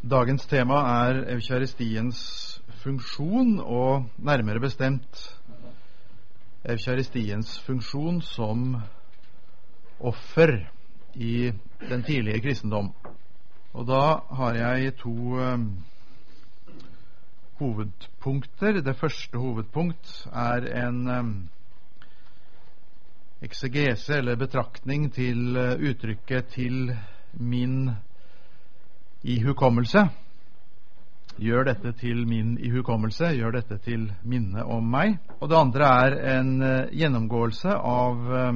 Dagens tema er eukaristiens funksjon, og nærmere bestemt eukaristiens funksjon som offer i den tidlige kristendom. Og da har jeg to hovedpunkter. Det første hovedpunkt er en eksegese eller betraktning til uttrykket 'til min ihukommelse'. Gjør dette til min ihukommelse, gjør dette til minne om meg. Og det andre er en gjennomgåelse av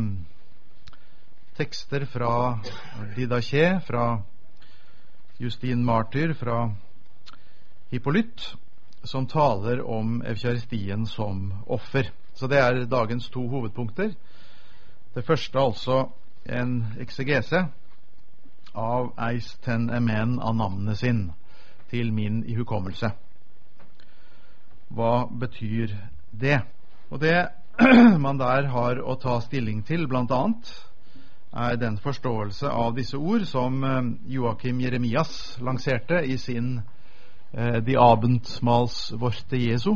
tekster fra Didache, fra Justin Martyr, fra Hippolyt, som taler om eukaristien som offer. Så det er dagens to hovedpunkter. Det første altså en eksegese av eis ten emen av navnet sin, til min ihukommelse. Hva betyr det? Og det man der har å ta stilling til, blant annet, er den forståelse av disse ord som Joachim Jeremias lanserte i sin Die Abendmahlsworte Jesu,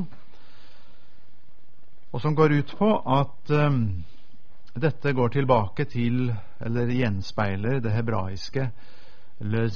og som går ut på at dette går tilbake til, eller gjenspeiler, det hebraiske le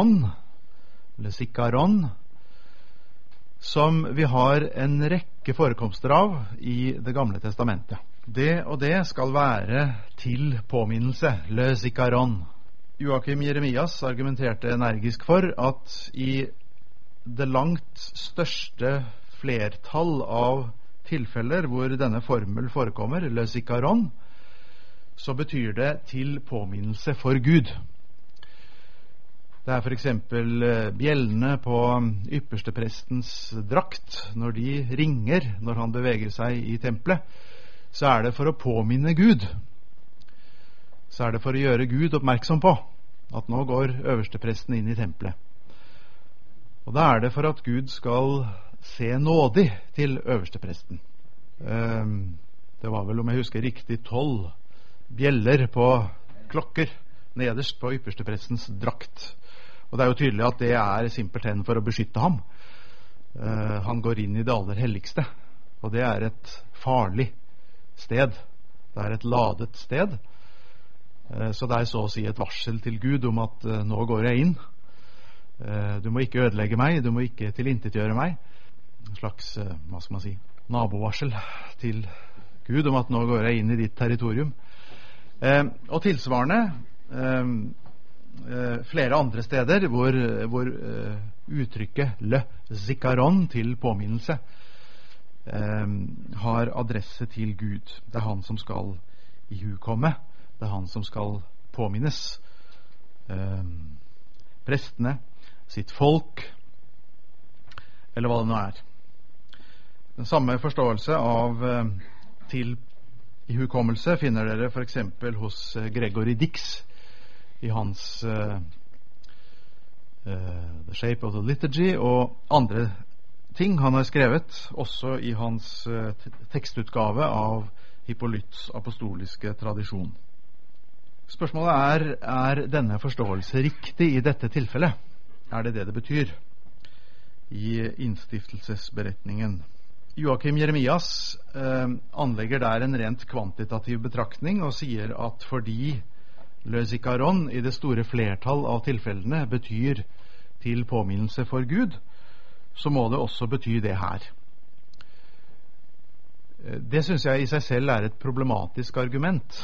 zikaron, som vi har en rekke forekomster av i Det gamle testamentet. Det og det skal være til påminnelse, le zikaron. Joachim Jeremias argumenterte energisk for at i det langt største flertall av tilfeller hvor denne formel forekommer, le zikaron, så betyr det til påminnelse for Gud. Det er for eksempel bjellene på yppersteprestens drakt. Når de ringer når han beveger seg i tempelet, så er det for å påminne Gud. Så er det for å gjøre Gud oppmerksom på at nå går øverstepresten inn i tempelet. Og da er det for at Gud skal se nådig til øverstepresten. Det var vel, om jeg husker riktig, 12 bjeller på klokker nederst på yppersteprestens drakt. Og det er jo tydelig at det er simpelthen for å beskytte ham. Han går inn i det aller helligste, og det er et farlig sted. Det er et ladet sted. Så det er så å si et varsel til Gud om at nå går jeg inn. Du må ikke ødelegge meg, du må ikke tilintetgjøre meg. En slags, hva skal man si, nabovarsel til Gud om at nå går jeg inn i ditt territorium. Og tilsvarende flere andre steder hvor uttrykket le zikaron, til påminnelse, har adresse til Gud. Det er han som skal ihukomme, det er han som skal påminnes. Prestene, sitt folk, eller hva det nå er. Den samme forståelse av til ihukommelse finner dere for eksempel hos Gregory Dix i hans The Shape of the Liturgy og andre ting han har skrevet, også i hans tekstutgave av Hippolyts apostoliske tradisjon. Spørsmålet er denne forståelse riktig i dette tilfellet? Er det det betyr i innstiftelsesberetningen? Joachim Jeremias anlegger der en rent kvantitativ betraktning og sier at fordi le zikaron i det store flertall av tilfellene betyr til påminnelse for Gud, så må det også bety det her. Det synes jeg i seg selv er et problematisk argument.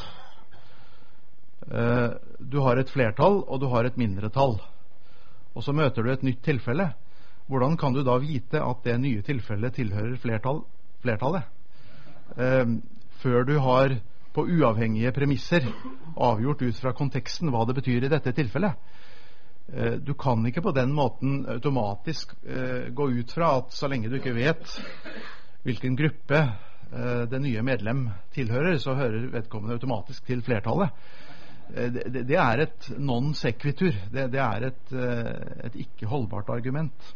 Du har et flertall og du har et mindretall, og så møter du et nytt tilfelle. Hvordan kan du da vite at det nye tilfellet tilhører flertallet? Før du har på uavhengige premisser avgjort ut fra konteksten hva det betyr i dette tilfellet. Du kan ikke på den måten automatisk gå ut fra at så lenge du ikke vet hvilken gruppe det nye medlem tilhører, så hører vedkommende automatisk til flertallet. Det er et non sequitur. Det er et ikke holdbart argument.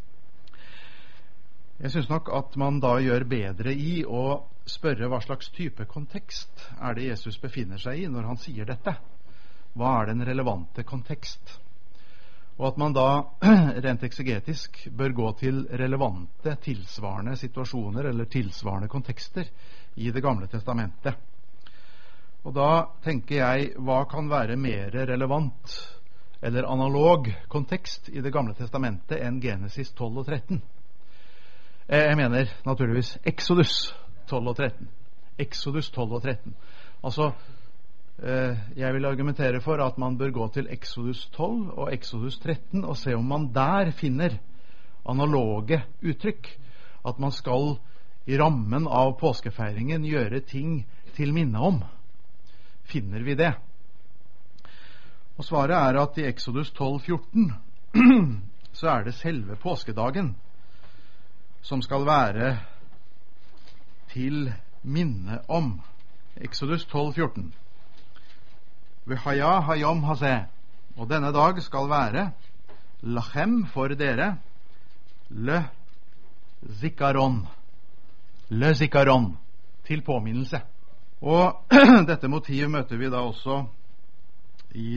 Jeg synes nok at man da gjør bedre i å spørre hva slags type kontekst er det Jesus befinner seg i når han sier dette. Hva er den relevante kontekst? og at man da rent eksegetisk bør gå til relevante, tilsvarende situasjoner eller tilsvarende kontekster i Det gamle testamentet. Og da tenker jeg, hva kan være mer relevant eller analog kontekst i Det gamle testamentet enn Genesis 12 og 13? Jeg mener naturligvis Exodus 12 og 13. Exodus 12 og 13. Altså, jeg vil argumentere for at man bør gå til Exodus 12 og Exodus 13 og se om man der finner analoge uttrykk. At man skal i rammen av påskefeiringen gjøre ting til minne om. Finner vi det? Og svaret er at i Exodus 12:14 så er det selve påskedagen som skal være til minne om. Exodus 12:14. V'haya hayom hazeh. Og denne dag skal være lachem for dere le zikaron. Le zikaron. Til påminnelse. Og dette motiv møter vi da også i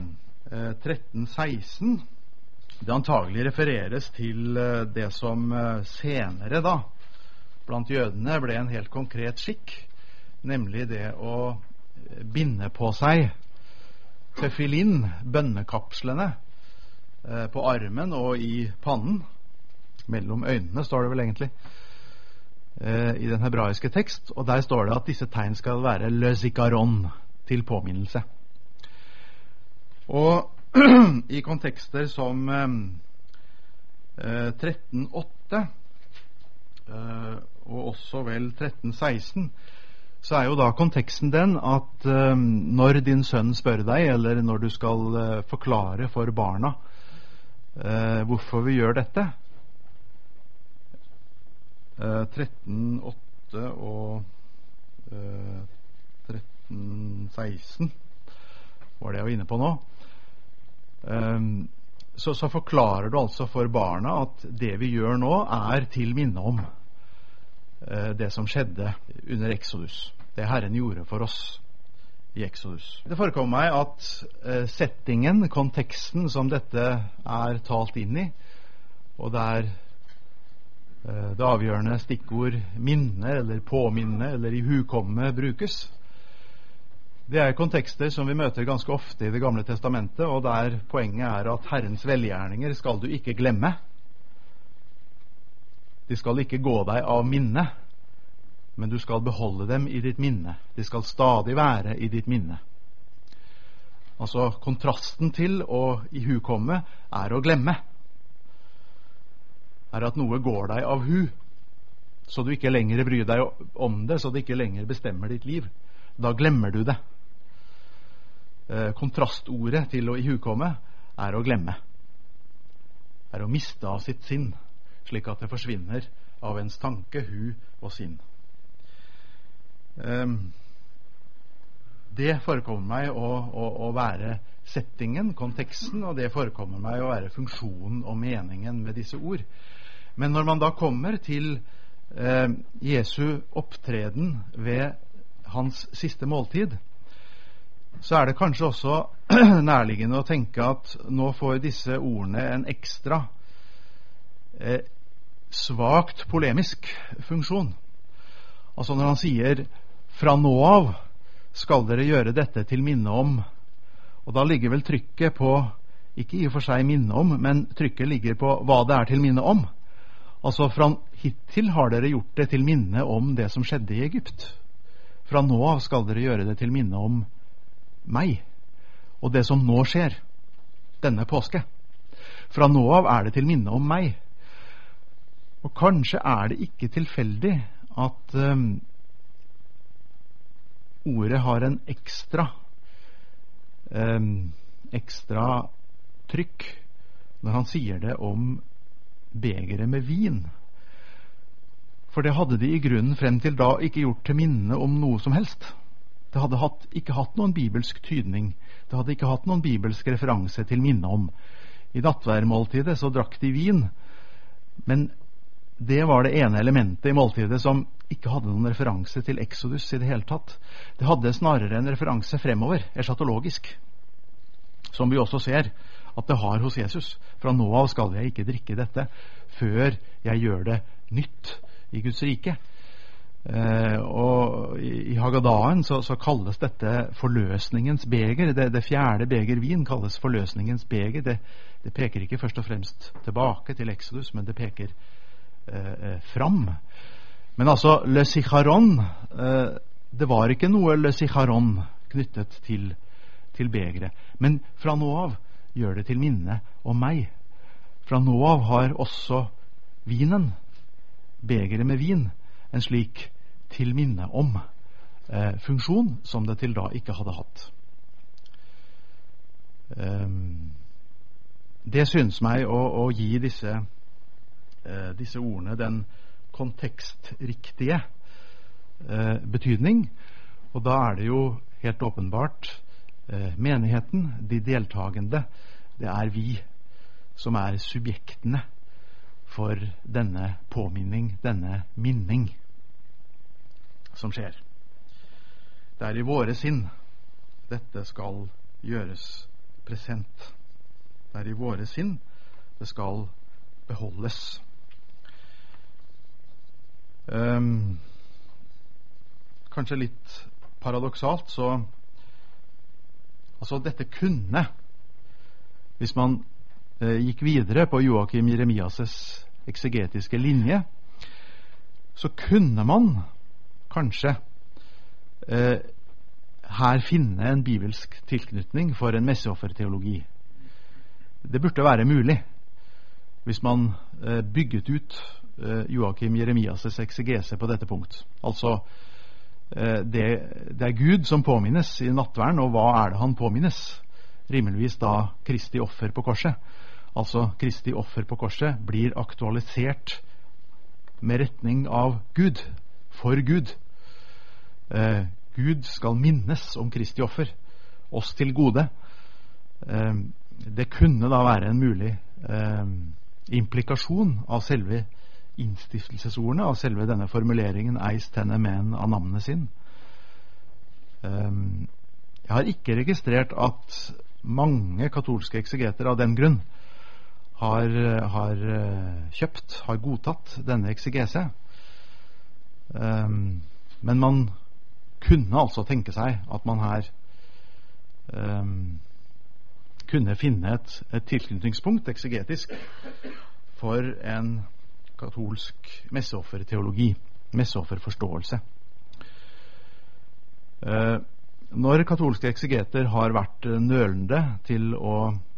13:16. Det antagelig refereres til det som senere da blant jødene ble en helt konkret skikk, nemlig det å binde på seg tefillin, bønnekapslene, på armen og i pannen. Mellom øynene står det vel egentlig i den hebraiske tekst, og der står det at disse tegn skal være le zikaron, til påminnelse. Og i kontekster som 13:8 og også vel 13:16, så er jo da konteksten den at når din sønn spør deg, eller når du skal forklare for barna hvorfor vi gjør dette, 13:8 og 13:16 var det jeg var inne på nå, så forklarer du altså for barna at det vi gjør nå er til minne om det som skjedde under Exodus, det Herren gjorde for oss i Exodus. Det forekommer meg at settingen, konteksten som dette er talt inn i, og der det avgjørende stikkord minne eller påminne eller ihukomme brukes, det er kontekster som vi møter ganske ofte i Det gamle testamentet, og der poenget er at Herrens velgjerninger skal du ikke glemme. De skal ikke gå deg av minne, men du skal beholde dem i ditt minne. De skal stadig være i ditt minne. Altså kontrasten til å ihukomme er å glemme. Er at noe går deg av hu, så du ikke lenger bryr deg om det, så det ikke lenger bestemmer ditt liv. Da glemmer du det. Kontrastordet til å ihukomme er å glemme. Er å miste av sitt sinn, slik at det forsvinner av ens tanke, hu og sinn. Det forekommer meg å være settingen, konteksten, og det forekommer meg å være funksjonen og meningen med disse ord. Men når man da kommer til Jesu opptreden ved hans siste måltid, så er det kanskje også nærliggende å tenke at nå får disse ordene en ekstra svagt polemisk funksjon. Altså når han sier fra nå av skal dere gjøre dette til minne om, og da ligger vel trykket på, ikke i og for seg minne om, men trykket ligger på hva det er til minne om. Altså fra hittil har dere gjort det til minne om det som skjedde i Egypt. Fra nå av skal dere gjøre det til minne om meg og det som nå skjer denne påske. Fra nå av er det til minne om meg. Og kanskje er det ikke tilfeldig at ordet har en ekstra trykk når han sier det om begeret med vin. For det hadde de i grunnen frem til da ikke gjort til minne om noe som helst. Det hadde ikke hatt noen bibelsk tydning. Det hadde ikke hatt noen bibelsk referanse til minne om. I nattverdmåltidet så drakk de vin, men det var det ene elementet i måltidet som ikke hadde noen referanse til Exodus i det hele tatt. Det hadde snarere en referanse fremover, eschatologisk, som vi også ser at det har hos Jesus. Fra nå av skal jeg ikke drikke dette før jeg gjør det nytt i Guds rike. Og i Hagadaen så kalles dette forløsningens beger. Det fjerde beger vin kalles forløsningens beger. Det peker ikke først og fremst tilbake til Exodus, men det peker fram. Men altså, le sicharon, det var ikke noe le sicharon knyttet til begeret. Men fra nå av gjør det til minne om meg. Fra nå av har også vinen, begeret med vin, en slik til minne om funksjon som det til da ikke hadde hatt. Det synes meg å gi disse ordene den kontekstriktige betydning, og da er det jo helt åpenbart menigheten, de deltagende, det er vi som er subjektene for denne påminning, denne minning som skjer. Det er i våre sinn dette skal gjøres present. Det er i våre sinn det skal beholdes. Kanskje litt paradoksalt, så altså dette kunne, hvis man gikk videre på Joakim Jeremias' eksegetiske linje, så kunne man kanskje her finne en bibelsk tilknytning for en messeofferteologi. Det burde være mulig hvis man bygget ut Joakim Jeremias' eksegese på dette punkt. Altså det er Gud som påminnes i nattverden, og hva er det han påminnes? Rimeligvis da Kristi offer på korset. Altså Kristi offer på korset blir aktualisert med retning av Gud, for Gud. Gud skal minnes om Kristi offer, oss til gode. Det kunne da være en mulig implikasjon av selve innstiftelsesordene, av selve denne formuleringen «eis tenne men» av navnet sin. Jeg har ikke registrert at mange katolske eksegeter av den grunn har kjøpt, har godtatt denne eksegese. Men man kunne altså tenke seg at man her kunne finne et tilknytningspunkt eksegetisk for en katolsk messeofferteologi, messeofferforståelse. Når katolske eksegeter har vært nølende til å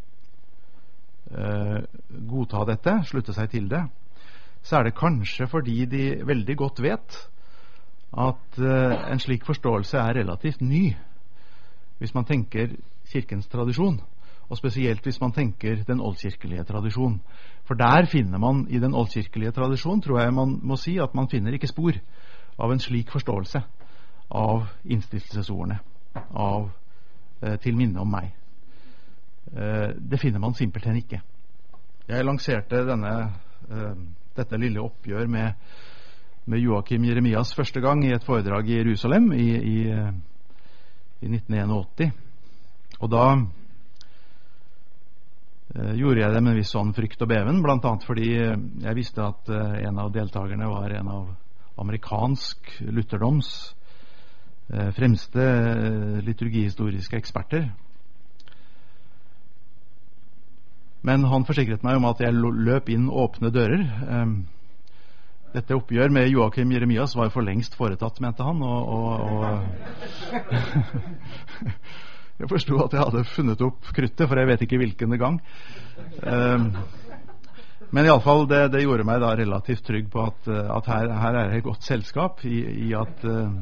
godta dette, slutte seg til det, så er det kanskje fordi de veldig godt vet at en slik forståelse er relativt ny hvis man tenker kirkens tradisjon, og spesielt hvis man tenker den oldkirkelige tradisjon. For der finner man i den oldkirkelige tradisjon, tror jeg man må si, at man finner ikke spor av en slik forståelse av innstiftelsesordene, av til minne om meg. Det finner man simpelthen ikke. Jeg lanserte dette lille oppgjør med Joakim Jeremias første gang i et foredrag i Jerusalem i 1981. Og da gjorde jeg det med en viss sånn frykt og beven, blant annet fordi jeg visste at en av deltakerne var en av amerikansk lutherdoms fremste liturgihistoriske eksperter. Men han forsikret meg om at jeg løp inn åpne dører. Dette oppgjør med Joakim Jeremias var for lengst foretatt, mente han, og jeg forstod at jeg hadde funnet opp kruttet, for jeg vet ikke hvilken gang. Men i alle fall, det gjorde meg da relativt trygg på at her er et godt selskap i at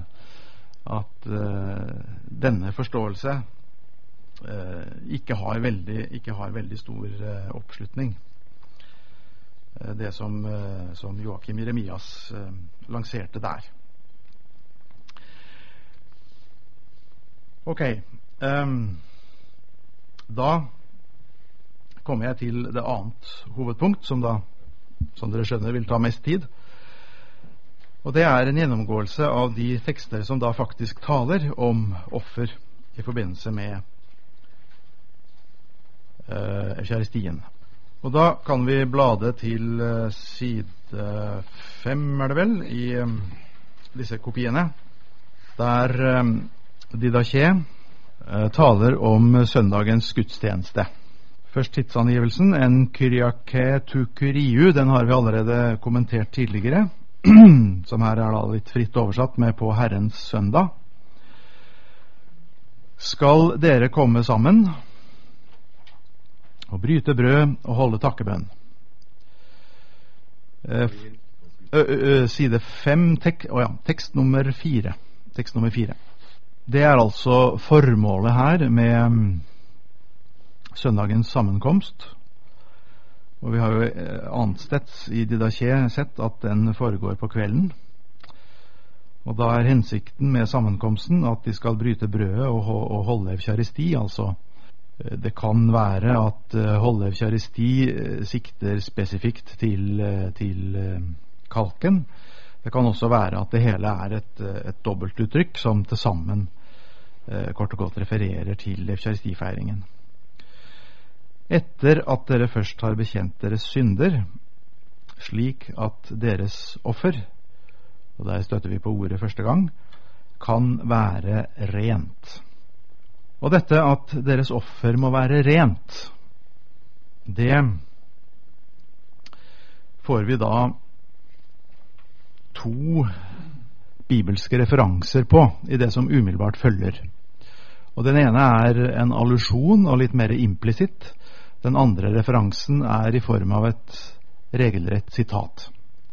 denne forståelse ikke har veldig stor oppslutning. Det som Joakim Jeremias lanserte der. Ok, da kommer jeg til det annet hovedpunkt som dere skjønner vil ta mest tid, og det er en gjennomgåelse av de tekster som da faktisk taler om offer i forbindelse med eukaristien. Og da kan vi blade til side 5, er det vel, i disse kopiene, der Didaché taler om søndagens gudstjeneste. Først tidsangivelsen, en kyriake tu kyriu, den har vi allerede kommentert tidligere, som her er da litt fritt oversatt med på Herrens søndag. Skal dere komme sammen og bryte brød og holde takkebønn? Side 5, tekst nummer 4. Tekst nummer 4. Det er altså formålet her med søndagens sammenkomst. Og vi har jo annetsteds i Didaché sett at den foregår på kvelden. Og da er hensikten med sammenkomsten at de skal bryte brødet og holde eucharisti. Altså, det kan være at holde eucharisti sikter spesifikt til kalken. Det kan også være at det hele er et dobbeltuttrykk som til sammen kort og godt refererer til eucharistifeiringen. Etter at dere først har bekjent deres synder, slik at deres offer, og der støtter vi på ordet første gang, kan være rent. Og dette at deres offer må være rent, det får vi da 2 bibelske referanser på i det som umiddelbart følger. Og den ene er en allusjon og litt mer implisitt. Den andre referansen er i form av et regelrett sitat.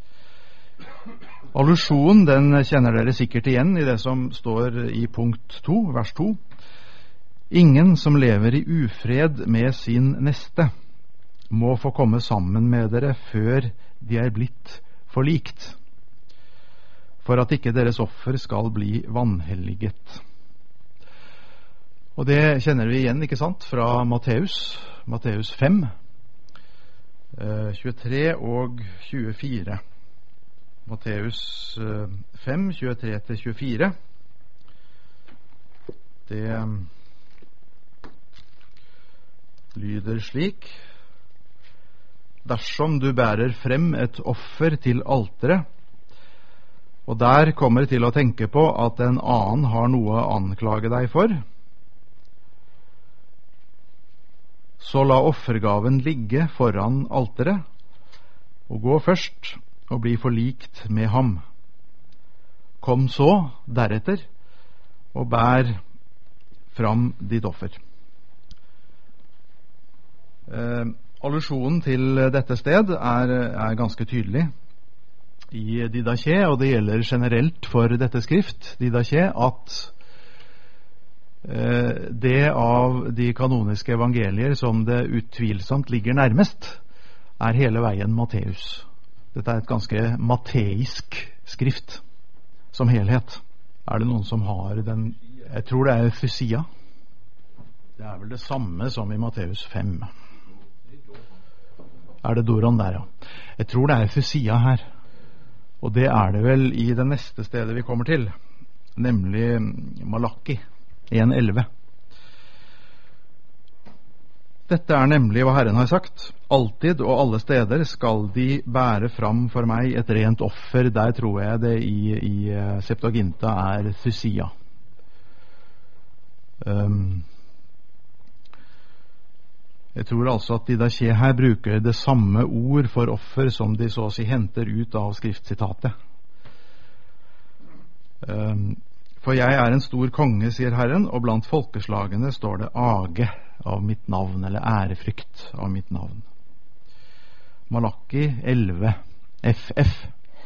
Allusjonen, den kjenner dere sikkert igjen i det som står i punkt 2, vers 2. Ingen som lever i ufred med sin neste, må få komme sammen med dere før de er blitt forlikt, for at ikke deres offer skal bli vanhelliget. Og det kjenner vi igjen, ikke sant, fra Matteus 5, 23 og 24. Matteus 5, 23-24. Det lyder slik: Dersom du bærer frem et offer til alteret, og der kommer til å tenke på at en annen har noe å anklage deg for, så la offergaven ligge foran alteret, og gå først og bli forlikt med ham. Kom så deretter og bær fram ditt offer. Allusjonen til dette sted er ganske tydelig i Didaché, og det gjelder generelt for dette skrift, Didaché, at det av de kanoniske evangelier som det utvilsomt ligger nærmest, er hele veien Matteus. Dette er et ganske mateisk skrift som helhet. Er det noen som har den? Jeg tror det er Fysia. Det er vel det samme som i Matteus 5. Er det Doron der, ja? Jeg tror det er Fysia her. Og det er det vel i det neste stedet vi kommer til, nemlig Malaki 1:11. Dette er nemlig hva Herren har sagt. Alltid og alle steder skal de bære fram for meg et rent offer. Der tror jeg det i Septuaginta er Fysia. Jeg tror altså at Didaché her bruker det samme ord for offer som de så å si henter ut av skriftsitatet. For jeg er en stor konge, sier Herren, og blant folkeslagene står det age av mitt navn, eller ærefrykt av mitt navn. Malaki 11, FF.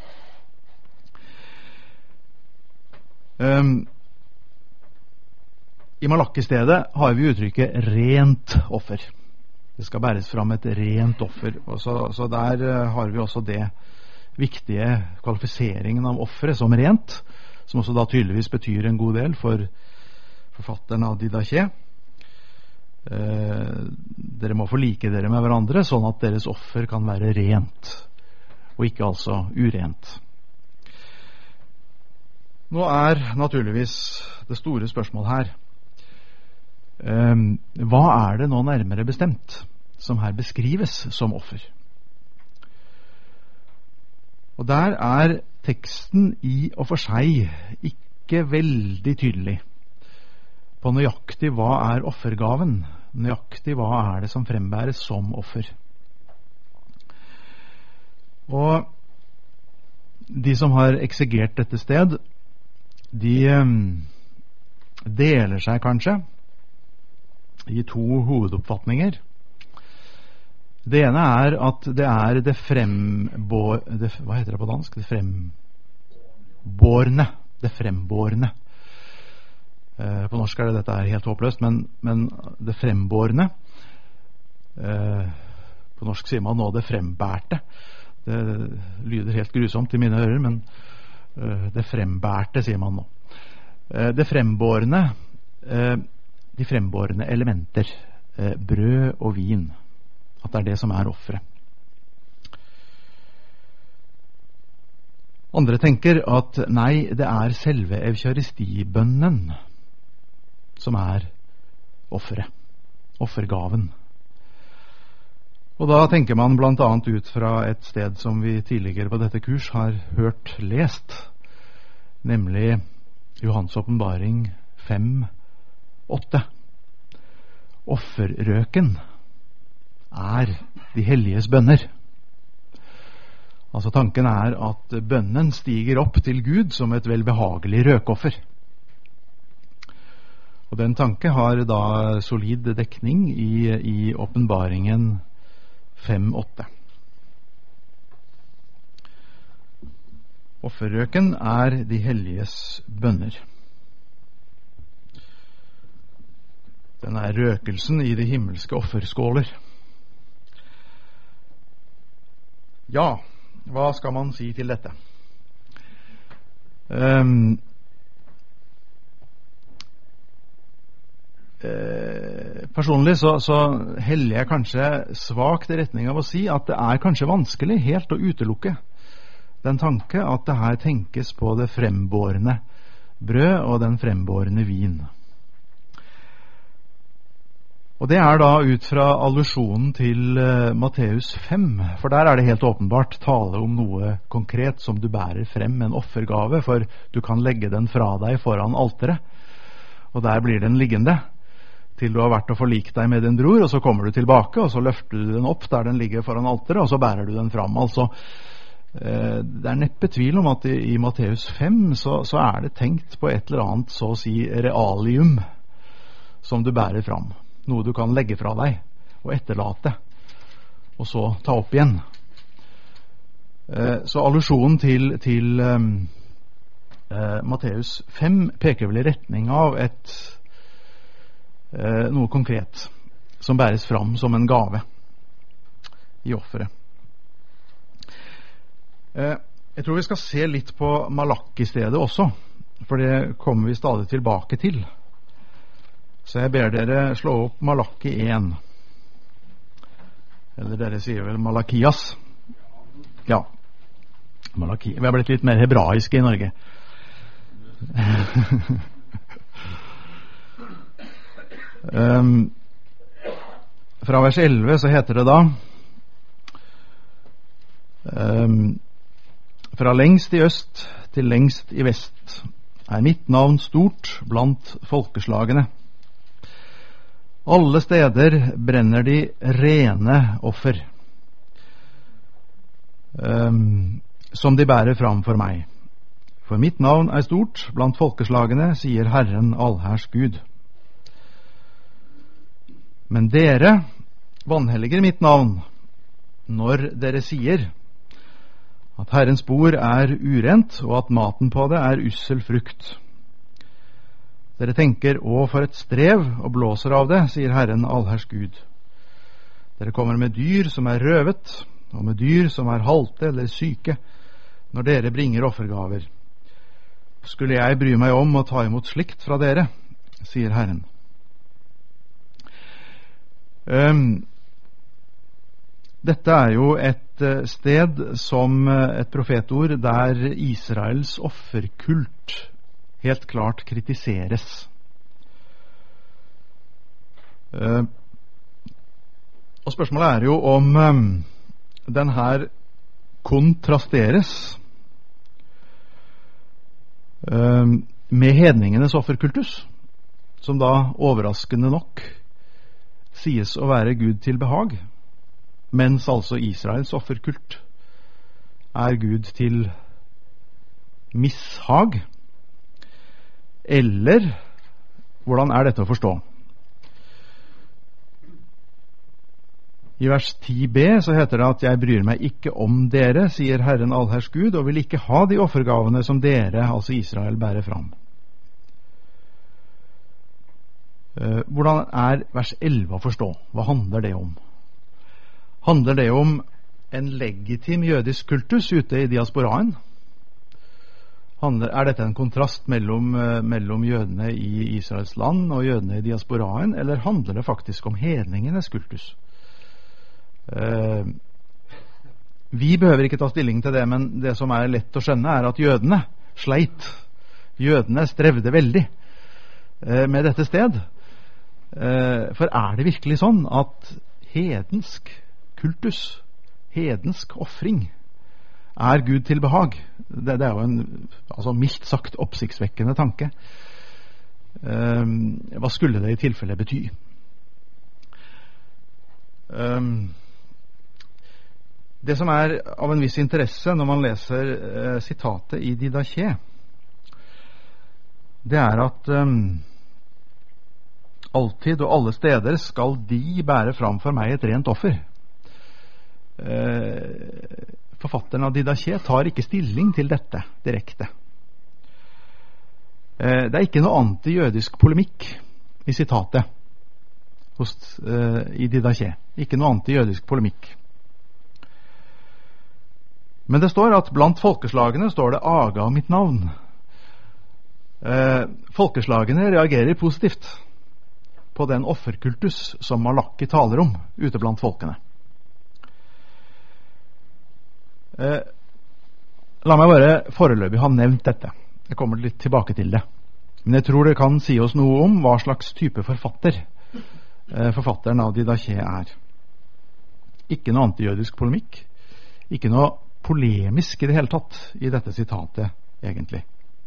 I Malaki-stedet har vi uttrykket rent offer. Det skal bæres fram et rent offer. Og så der har vi også det viktige kvalifiseringen av offeret som rent, som også da tydeligvis betyr en god del for forfatteren av Didaché. Dere må forlike dere med hverandre, sånn at deres offer kan være rent, og ikke altså urent. Nå er naturligvis det store spørsmål her: hva det nå nærmere bestemt som her beskrives som offer? Og der teksten i og for seg ikke veldig tydelig på nøyaktig hva offergaven, nøyaktig hva det som frembæres som offer. Og de som har eksegert dette sted, de deler seg kanskje i to hovedoppfatninger. Det ene at det det hva heter det på dansk? Det frembårne. På norsk det dette helt håpløst, men det frembårne, på norsk sier man nå det frembærte. Det lyder helt grusomt i mine ører, men det frembærte sier man nå. Det frembårne, de frembårne elementer, brød og vin, at det som offeret. Andre tenker at nei, det selve eukaristibønnen som offeret, offergaven. Og da tenker man blant annet ut fra et sted som vi tidligere på dette kurs har hørt lest, nemlig Johans åpenbaring 5:8. Offerrøken de helliges bønner. Altså tanken at bønnen stiger opp til Gud som et velbehagelig røkoffer. Og den tanke har da solid dekning i åpenbaringen 5:8. Offerrøken de helliges bønner. Den røkelsen i de himmelske offerskåler. Ja, hva skal man si til dette? Personlig så heller jeg kanskje svakt i retning av å si at det kanskje vanskelig helt å utelukke den tanke at det her tenkes på det frembårne brød og den frembårne vin. Og det da ut fra allusjonen til Matteus 5, for der det helt åpenbart tale om noe konkret som du bærer frem, en offergave, for du kan legge den fra deg foran alteret, og der blir den liggende til du har vært og forlikt deg med din bror, og så kommer du tilbake, og så løfter du den opp der den ligger foran alteret, og så bærer du den fram. Altså, det neppe tvil om at i Matteus 5 så det tenkt på et eller annet, så å si realium, som du bærer fram. Noe du kan legge fra deg og etterlate, og så ta opp igjen. Så allusjonen til Matteus 5 peker vel i retning av noe konkret som bæres fram som en gave i offeret. Jeg tror vi skal se litt på Malakki-stedet også, for det kommer vi stadig tilbake til. Så jeg ber dere slå opp Malakki 1. Eller dere sier vel Malakias. Ja, Malakki. Vi har blitt litt mer hebraiske i Norge. Fra vers 11 så heter det da: fra lengst i øst til lengst i vest mitt navn stort blant folkeslagene. Alle steder brenner de rene offer, som de bærer fram for meg. For mitt navn stort blant folkeslagene, sier Herren allherrs Gud. Men dere vanhelliger mitt navn når dere sier at Herrens bord urent, og at maten på det ussel frukt. Dere tenker, å for et strev, og blåser av det, sier Herren allherrs Gud. Dere kommer med dyr som røvet, og med dyr som halte eller syke, når dere bringer offergaver. Skulle jeg bry meg om å ta imot slikt fra dere, sier Herren. Dette jo et sted som et profetord der Israels offerkult helt klart kritiseres. Og spørsmålet er jo om den her kontrasteres med hedningenes offerkultus, som da overraskende nok sies å være Gud til behag, mens altså Israels offerkult er Gud til mishag. Eller hvordan er dette å forstå? I vers 10b så heter det at jeg bryr meg ikke om dere, sier Herren allherrs Gud, og vil ikke ha de offergavene som dere, altså Israel, bærer fram. Hvordan er vers 11 å forstå? Hva handler det om? Handler det om en legitim jødisk kultus ute i diasporaen? Er dette en kontrast mellom jødene i Israels land og jødene i diasporaen, eller handler det faktisk om hedningenes kultus? Vi behøver ikke ta stilling til det, men det som er lett å skjønne er at jødene sleit. Jødene strevde veldig med dette sted. For er det virkelig sånn at hedensk kultus, hedensk offring, er Gud til behag? Det er jo en mildt sagt oppsiktsvekkende tanke. Hva skulle det i tilfelle bety? Det som er av en viss interesse når man leser sitatet i Didaché, det er at alltid og alle steder skal de bære fram for meg et rent offer. Forfatteren av Didaché tar ikke stilling til dette direkte. Det er ikke noe antijødisk polemikk i sitatet i Didaché. Ikke noe antijødisk polemikk. Men det står at blant folkeslagene står det aga mitt navn. Folkeslagene reagerer positivt på den offerkultus som Malaki taler om ute blant folkene. La meg bare foreløpig ha nevnt dette. Jeg kommer litt tilbake til det. Men jeg tror det kan si oss noe om hva slags type forfatteren av Didaché er. Ikke noe antijødisk polemikk. Ikke noe polemisk i det hele tatt i dette sitatet, egentlig.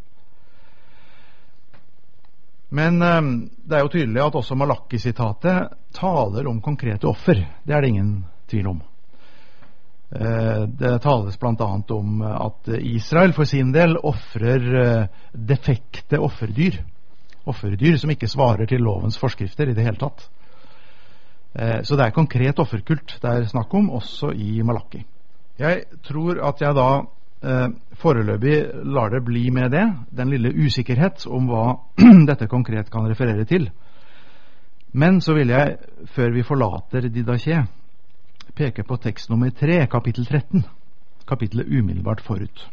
Men det er jo tydelig at også Malaki-sitatet taler om konkrete offer. Det er det ingen tvil om. Det tales blant annet om at Israel for sin del offrer defekte offerdyr. Offerdyr som ikke svarer til lovens forskrifter i det hele tatt. Så det er konkret offerkult det er snakk om, også i Malaki. Jeg tror at jeg da foreløpig lar det bli med det, den lille usikkerhet om hva dette konkret kan referere til. Men så vil jeg, før vi forlater Didaché, peke på tekst nummer 3, kapittel 13, kapittelet umiddelbart forut.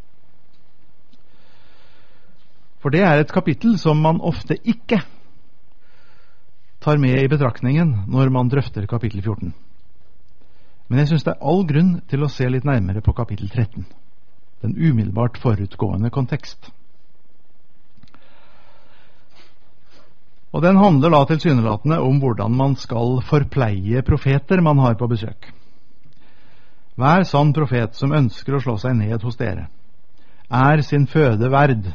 For det er et kapittel som man ofte ikke tar med i betraktningen når man drøfter kapittel 14. Men jeg synes det er all grunn til å se litt nærmere på kapittel 13, den umiddelbart forutgående kontekst. Og den handler da tilsynelatende om hvordan man skal forpleie profeter man har på besøk. Hver sann profet som ønsker å slå seg ned hos dere, er sin føde verd.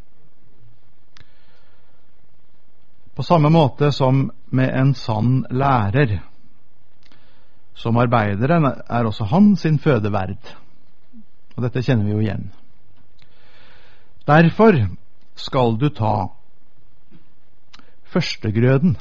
På samme måte som med en sann lærer. Som arbeideren er også han sin føde verd. Og dette kjenner vi jo igjen. Derfor skal du ta førstegrøden.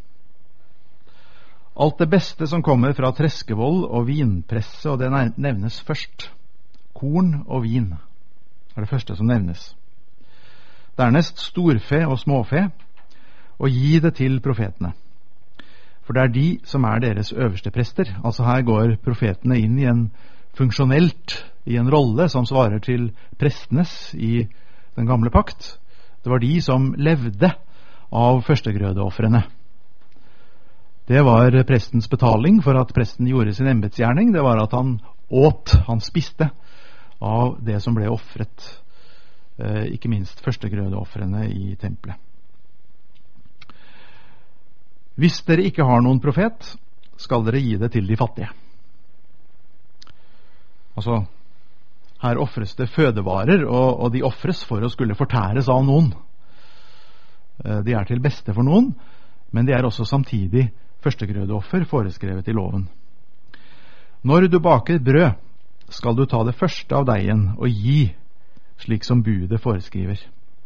Alt det beste som kommer fra treskevoll og vinpresse, og det nevnes først. Korn og vin er det første som nevnes. Dernest storfe og småfe, og gi det til profetene. For det er de som er deres øverste prester. Altså her går profetene inn i en rolle som svarer til prestenes i den gamle pakt. Det var de som levde av førstegrødeoffrene. Det var prestens betaling for at presten gjorde sin embetsgjerning. Det var at han spiste av det som ble offret, ikke minst førstegrødeoffrene i tempelet. Hvis dere ikke har noen profet, skal dere gi det til de fattige. Altså, her offres det fødevarer, og de offres for å skulle fortæres av noen. De er til beste for noen, men de er også samtidig førstegrødeoffer foreskrevet i loven. Når du baker brød, skal du ta det første av deigen og gi, slik som budet foreskriver.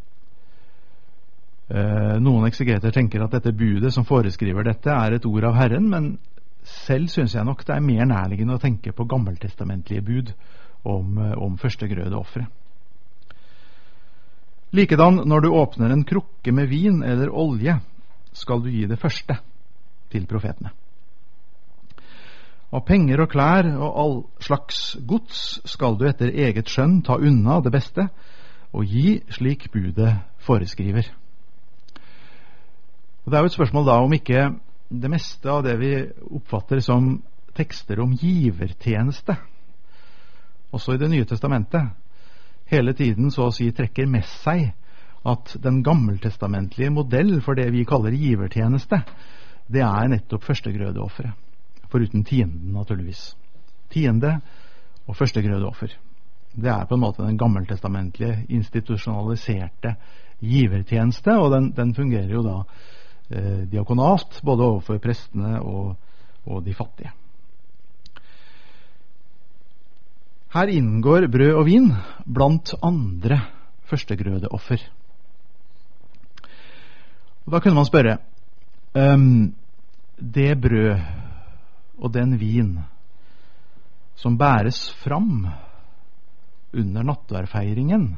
Noen eksegeter tenker at dette budet som foreskriver dette er et ord av Herren, men selv synes jeg nok det er mer nærliggende å tenke på gammeltestamentlige bud om førstegrødeoffre. Likedan, når du åpner en krukke med vin eller olje, skal du gi det første til profetene. Av penger og klær og all slags gods skal du etter eget skjønn ta unna det beste og gi slik budet foreskriver. Og det er jo et spørsmål da om ikke det meste av det vi oppfatter som tekster om givertjeneste, også i Det nye testamentet, hele tiden så å si trekker med seg at den gammeltestamentlige modell for det vi kaller givertjeneste, det er nettopp førstegrødeofferet, foruten tienden naturligvis. Tiende og førstegrødeoffer. Det er på en måte den gammeltestamentlige institusjonaliserte givertjeneste, og den fungerer jo da diakonalt, både overfor prestene og de fattige. Her inngår brød og vin blant andre førstegrødeoffer. Og da kunne man spørre, det brød og den vin som bæres fram under nattverdfeiringen,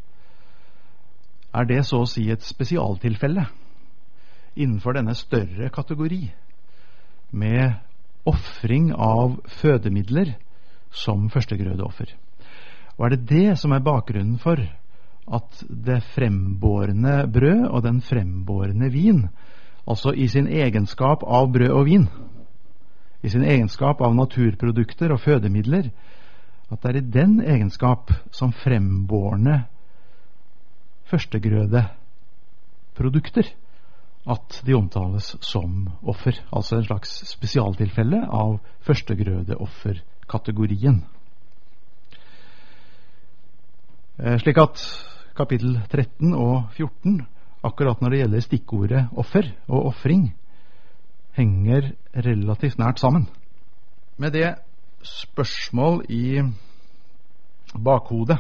er det så å si et spesialtilfelle innenfor denne større kategori med offring av fødemidler som førstegrødeoffer? Og er det det som er bakgrunnen for at det frembårne brød og den frembårne vin, altså i sin egenskap av brød og vin, i sin egenskap av naturprodukter og fødemidler, at det er i den egenskap som frembårne førstegrødeprodukter at de omtales som offer, altså en slags spesialtilfelle av førstegrødeofferkategorien. Slik at kapittel 13 og 14, akkurat når det gjelder stikkordet offer og offring, henger relativt nært sammen. Med det spørsmål i bakhodet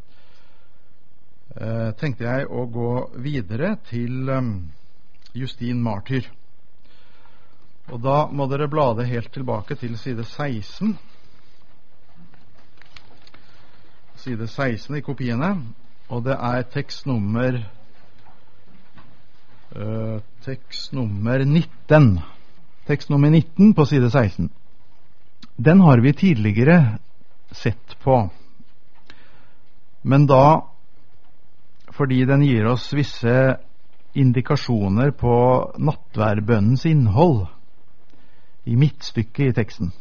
tenkte jeg å gå videre til Justin Martyr. Og da må dere blade helt tilbake til side 16. Side 16 i kopiene, og det er tekst nummer 19. Tekst nummer 19 på side 16. Den har vi tidligere sett på, men da fordi den gir oss visse indikasjoner på nattverdbønnens innhold i midtstykket i teksten.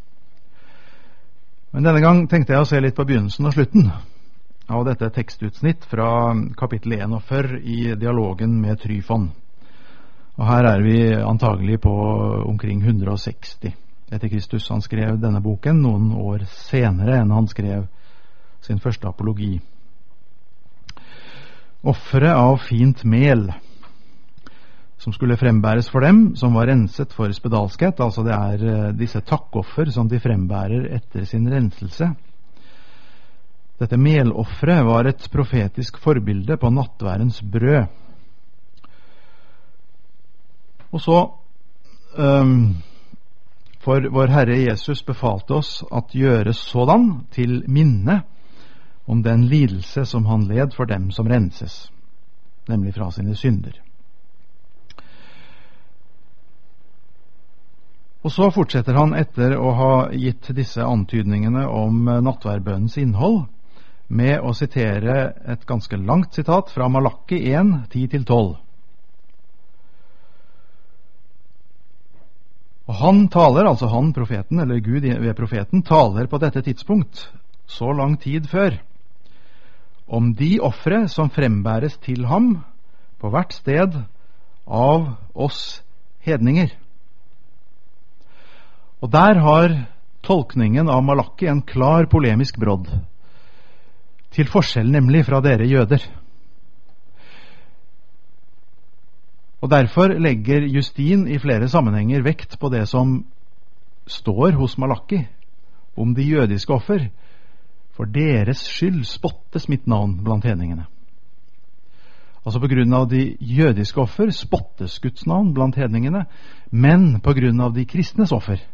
Men denne gang tenkte jeg å se litt på begynnelsen og slutten av dette tekstutsnitt fra kapittel 41 i dialogen med Tryfon. Og her er vi antagelig på omkring 160 etter Kristus. Han skrev denne boken noen år senere enn han skrev sin første apologi. Offeret av fint mel som skulle frembæres for dem som var renset for spedalskhet, altså det er disse takkoffer som de frembærer etter sin renselse. Dette melofferet var et profetisk forbilde på nattverdens brød. Og så for vår Herre Jesus befalte oss at gjøre sådan til minne om den lidelse som han led for dem som renses, nemlig fra sine synder. Og så fortsetter han etter å ha gitt disse antydningene om nattverdbønnens innhold med å sitere et ganske langt sitat fra Malakki 1, 10-12. Og han taler, altså han, profeten, eller Gud ved profeten, taler på dette tidspunkt, så lang tid før, om de ofre som frembæres til ham på hvert sted av oss hedninger. Og der har tolkningen av Malaki en klar polemisk brodd, til forskjell nemlig fra dere jøder. Og derfor legger Justin i flere sammenhenger vekt på det som står hos Malaki om de jødiske offer. For deres skyld spottes mitt navn blant hedningene. Altså på grunn av de jødiske offer spottes Guds navn blant hedningene, men på grunn av de kristnes offer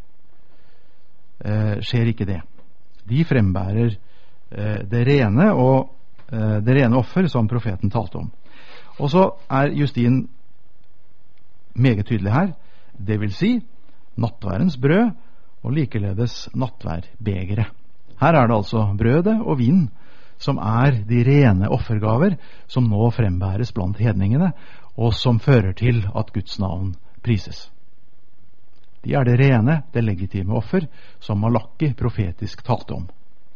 skjer ikke det. De frembærer det rene offer som profeten talte om. Og så er Justin meget tydelig her, det vil si nattværens brød og likeledes nattværbegeret. Her er det altså brødet og vin som er de rene offergaver som nå frembæres blant hedningene, og som fører til at Guds navn prises. De er det rene, det legitime offer som Malaki profetisk talte om.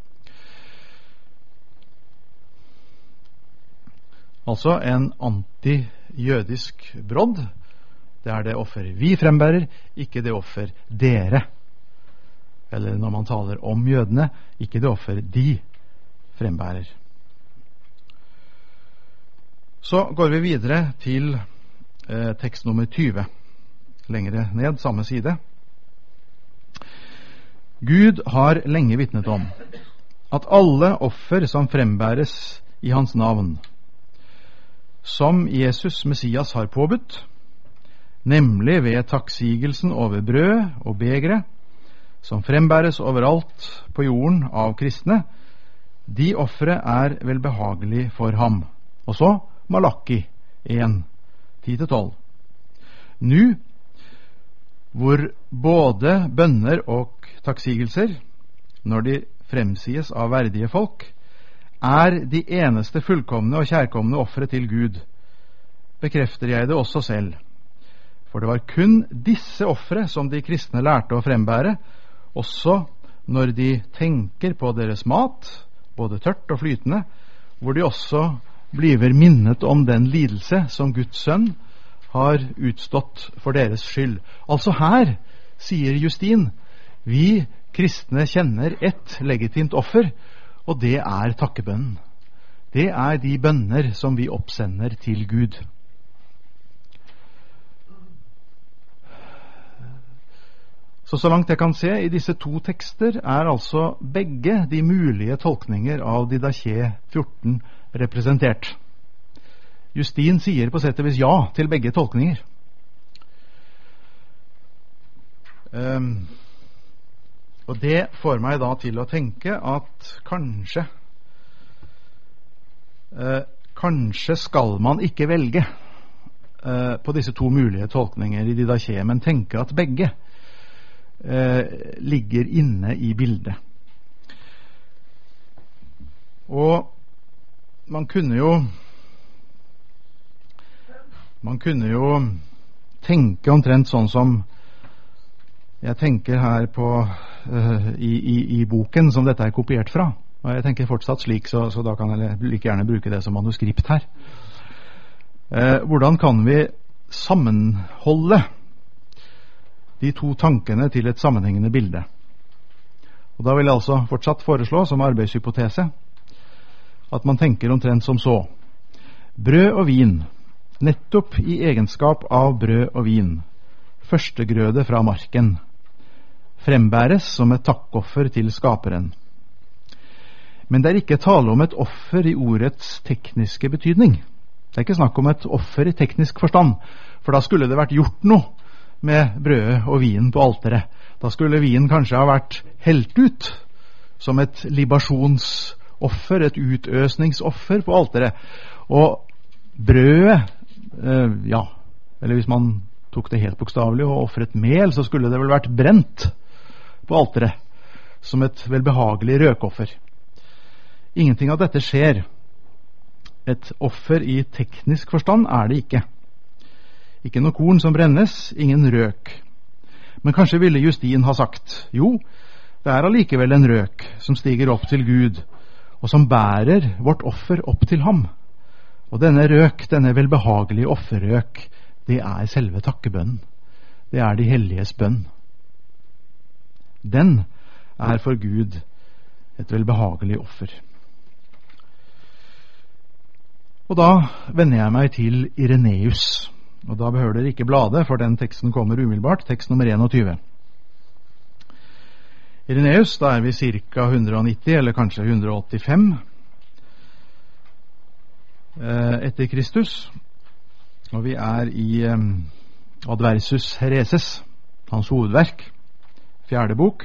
Altså en anti-jødisk brodd. Det er det offer vi frembærer, ikke det offer dere. Eller når man taler om jødene, ikke det offer de frembærer. Så går vi videre til tekst nummer 20. Lengre ned, samme side. Gud har lenge vitnet om at alle offer som frembæres i hans navn, som Jesus Messias har påbudt, nemlig ved takksigelsen over brød og begre, som frembæres overalt på jorden av kristne, de ofre er velbehagelig for ham. Og så Malaki 1, 10-12. Nå, hvor både bønner og takksigelser, når de fremsies av verdige folk, er de eneste fullkomne og kjærkomne ofre til Gud, bekrefter jeg det også selv. For det var kun disse ofre som de kristne lærte å frembære, også når de tenker på deres mat, både tørt og flytende, hvor de også bliver minnet om den lidelse som Guds sønn har utstått for deres skyld. Altså her, sier Justin, vi kristne kjenner et legitimt offer, og det er takkebønnen. Det er de bønner som vi oppsender til Gud. Så langt jeg kan se i disse to tekster er altså begge de mulige tolkninger av Didache 14 representert. Justin sier på sett og vis ja til begge tolkninger. Og det får meg da til å tenke at kanskje skal man ikke velge på disse to mulige tolkninger i Didache, men tenke at begge ligger inne i bildet. Og man kunne jo tenke omtrent sånn som jeg tenker her på i boken som dette er kopiert fra. Og jeg tenker fortsatt slik, så da kan jeg like gjerne bruke det som manuskript her. Hvordan kan vi sammenholde de to tankene til et sammenhengende bilde? Og da vil jeg altså fortsatt foreslå som arbeidshypotese at man tenker omtrent som så. Brød og vin, nettopp i egenskap av brød og vin, førstegrøde fra marken, frembæres som et takkoffer til skaperen. Men det er ikke tale om et offer i ordets tekniske betydning. Det er ikke snakk om et offer i teknisk forstand, for da skulle det vært gjort noe med brødet og vinen på alteret. Da skulle vinen kanskje ha vært helt ut som et libasjonsoffer, et utøsningsoffer på alteret. Og brødet, eller hvis man tok det helt bokstavelig og offret mel, så skulle det vel vært brent på alteret som et velbehagelig røkoffer. Ingenting av dette skjer. Et offer i teknisk forstand er det ikke. Ikke noe korn som brennes, ingen røk. Men kanskje ville Justin ha sagt, jo, det er allikevel en røk som stiger opp til Gud, og som bærer vårt offer opp til ham. Og denne røk, denne velbehagelige offerrøk, det er selve takkebønnen. det er de helliges bønn. Den er for Gud et velbehagelig offer. Og da vender jeg meg til Ireneus. Og da behøver dere ikke blade, for den teksten kommer umiddelbart. Tekst nummer 21. Ireneus, da er vi ca. 190 eller kanskje 185 etter Kristus. Og vi er i Adversus Hereses, hans hovedverk, 4. bok.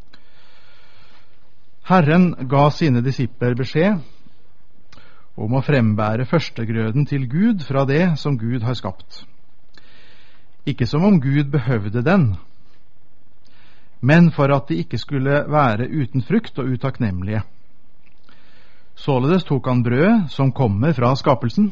Herren ga sine disipler beskjed om å frembære førstegrøden til Gud fra det som Gud har skapt. Ikke som om Gud behøvde den, men for at de ikke skulle være uten frukt og utakknemlige. Således tok han brød som kommer fra skapelsen,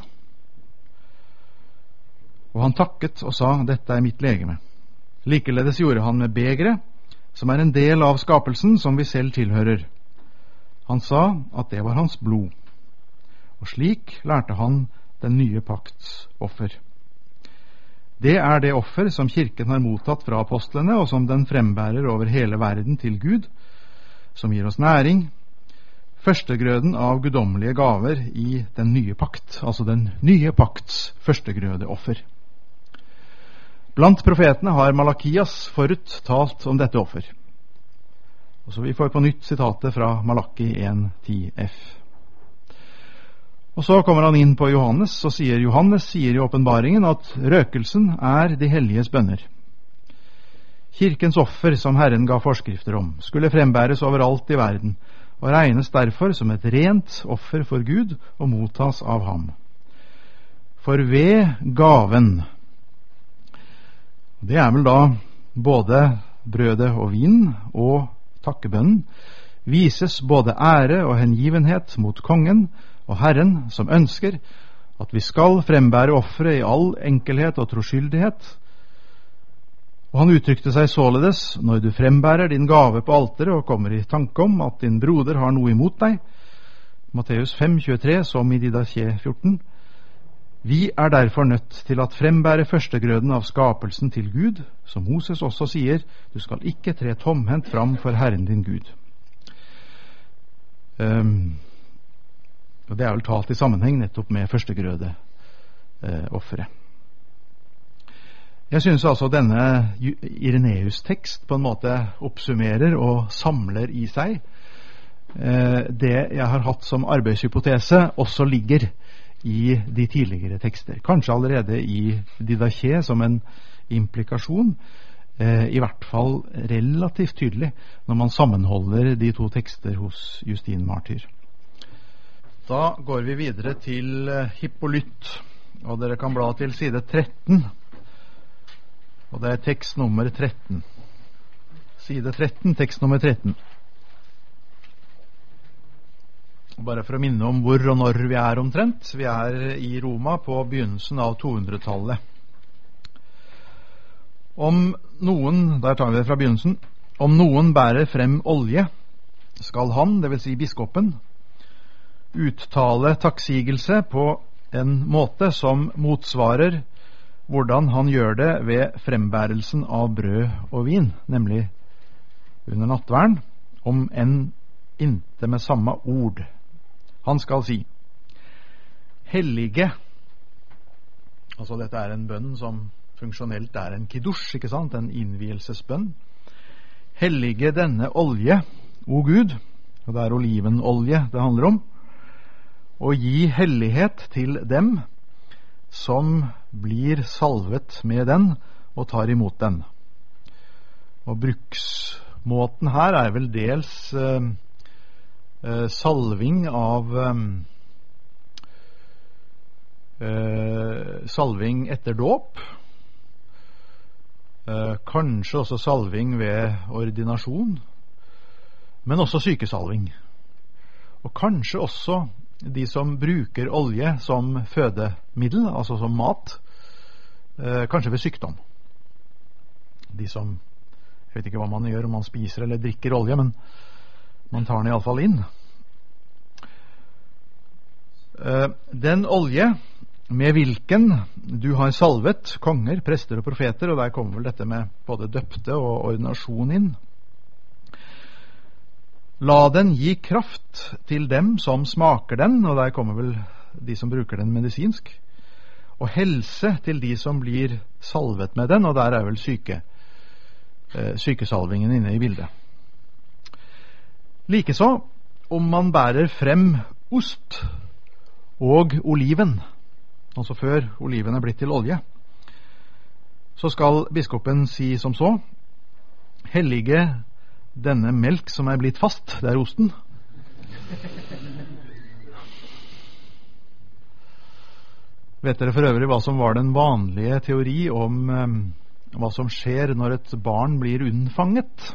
og han takket og sa, dette er mitt legeme. Likeledes gjorde han med begeret, som er en del av skapelsen som vi selv tilhører. Han sa at det var hans blod. Og slik lærte han den nye pakts offer. Det er det offer som kirken har mottatt fra apostlene, og som den frembærer over hele verden til Gud, som gir oss næring, førstegrøden av guddommelige gaver i den nye pakt, altså den nye pakts førstegrødeoffer. Blant profetene har Malakias forut talt om dette offer. Og så vi får på nytt sitatet fra Malaki 1:10f. Og så kommer han inn på Johannes, og Johannes sier i åpenbaringen at røkelsen er de helliges bønner. Kirkens offer, som Herren ga forskrifter om, skulle frembæres overalt i verden, og regnes derfor som et rent offer for Gud og mottas av ham. For ved gaven, det er vel da både brødet og vin og takkebønnen, vises både ære og hengivenhet mot kongen og Herren, som ønsker at vi skal frembære offeret i all enkelhet og troskyldighet. Og han uttrykte seg således, når du frembærer din gave på alteret og kommer i tanke om at din broder har noe imot deg, Matteus 5:23, som i Didache 14, vi er derfor nødt til at frembære førstegrøden av skapelsen til Gud, som Moses også sier, du skal ikke tre tomhendt fram for Herren din Gud. Og det er vel talt i sammenheng nettopp med førstegrødeofferet. Jeg synes altså denne Ireneus-tekst på en måte oppsummerer og samler i seg det jeg har hatt som arbeidshypotese også ligger i de tidligere tekster. Kanskje allerede i Didache som en implikasjon, i hvert fall relativt tydelig når man sammenholder de to tekster hos Justin Martyr. Da går vi videre til Hippolyt, og dere kan bla til side 13, og det er tekst nummer 13. Side 13, tekst nummer 13. Bare for å minne om hvor og når vi er omtrent. Vi er i Roma på begynnelsen av 200-tallet. Om noen, der tar vi det fra begynnelsen, om noen bærer frem olje, skal han, det vil si biskopen, uttale takksigelse på en måte som motsvarer hvordan han gjør det ved frembærelsen av brød og vin, nemlig under nattverden, om enn inte med samme ord. Han skal si, hellige, altså dette er en bønn som funksjonelt er en kiddush, ikke sant, en innvielsesbønn. Hellige denne olje, o Gud, og det er olivenolje det handler om, og gi hellighet til dem som blir salvet med den og tar imot den. Og bruksmåten her er vel dels salving av salving etter dåp, kanskje også salving ved ordinasjon, men også sykesalving, og kanskje også de som bruker olje som fødemiddel, altså som mat, kanskje ved sykdom. De som, jeg vet ikke hva man gjør om man spiser eller drikker olje, men man tar den i alle fall inn. Den olje med hvilken du har salvet konger, prester og profeter, og der kommer vel dette med både døpte og ordinasjon inn. La den gi kraft til dem som smaker den, og der kommer vel de som bruker den medisinsk, og helse til de som blir salvet med den, og der er vel sykesalvingen inne i bildet. Likeså, om man bærer frem ost og oliven, altså før oliven er blitt til olje, så skal biskopen si som så: hellige denne melk som er blitt fast, det er osten. Vet dere for øvrig hva som var den vanlige teori om hva som skjer når et barn blir unnfanget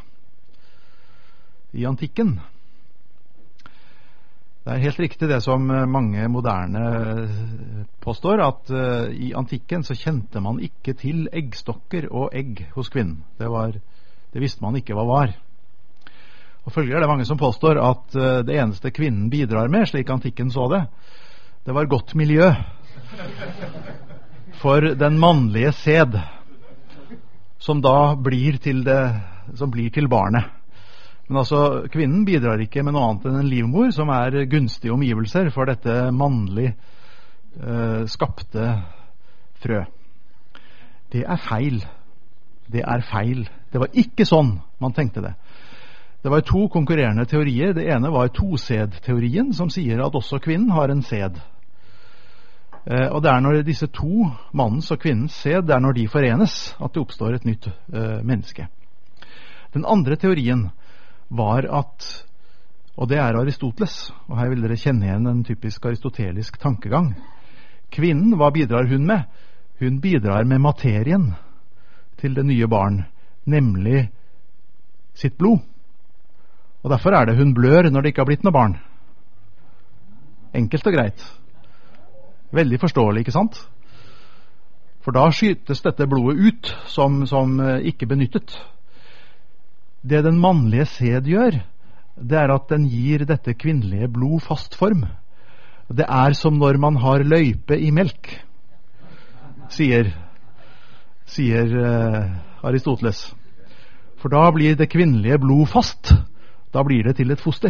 i antikken? Det er helt riktig det som mange moderne påstår, at i antikken så kjente man ikke til eggstokker og egg hos kvinnen. Det visste man ikke hva var. Og følgelig er det mange som påstår at det eneste kvinnen bidrar med, slik antikken så det, det var godt miljø for den mannlige sæd, som da blir til barnet. Men altså, kvinnen bidrar ikke med noe annet enn en livmor, som er gunstige omgivelser for dette mannlig skapte frø. Det er feil. Det er feil. Det var ikke sånn man tenkte det. Det var to konkurrerende teorier. Det ene var tosædteorien, som sier at også kvinnen har en sæd. Og det er når disse to, mannens og kvinnens sæd, det er når de forenes, at det oppstår et nytt menneske. Den andre teorien var at, og det er Aristoteles, og her vil dere kjenne igjen en typisk aristotelisk tankegang. Kvinnen, hva bidrar hun med? Hun bidrar med materien til det nye barn, nemlig sitt blod. Og derfor er det hun blør når det ikke har blitt noe barn. Enkelt og greit. Veldig forståelig, ikke sant? For da skytes dette blodet ut som ikke benyttet. Det den mannlige sæd gjør, det er at den gir dette kvinnelige blod fast form. Det er som når man har løype i melk, sier Aristoteles. For da blir det kvinnelige blod fast. Da blir det til et foster.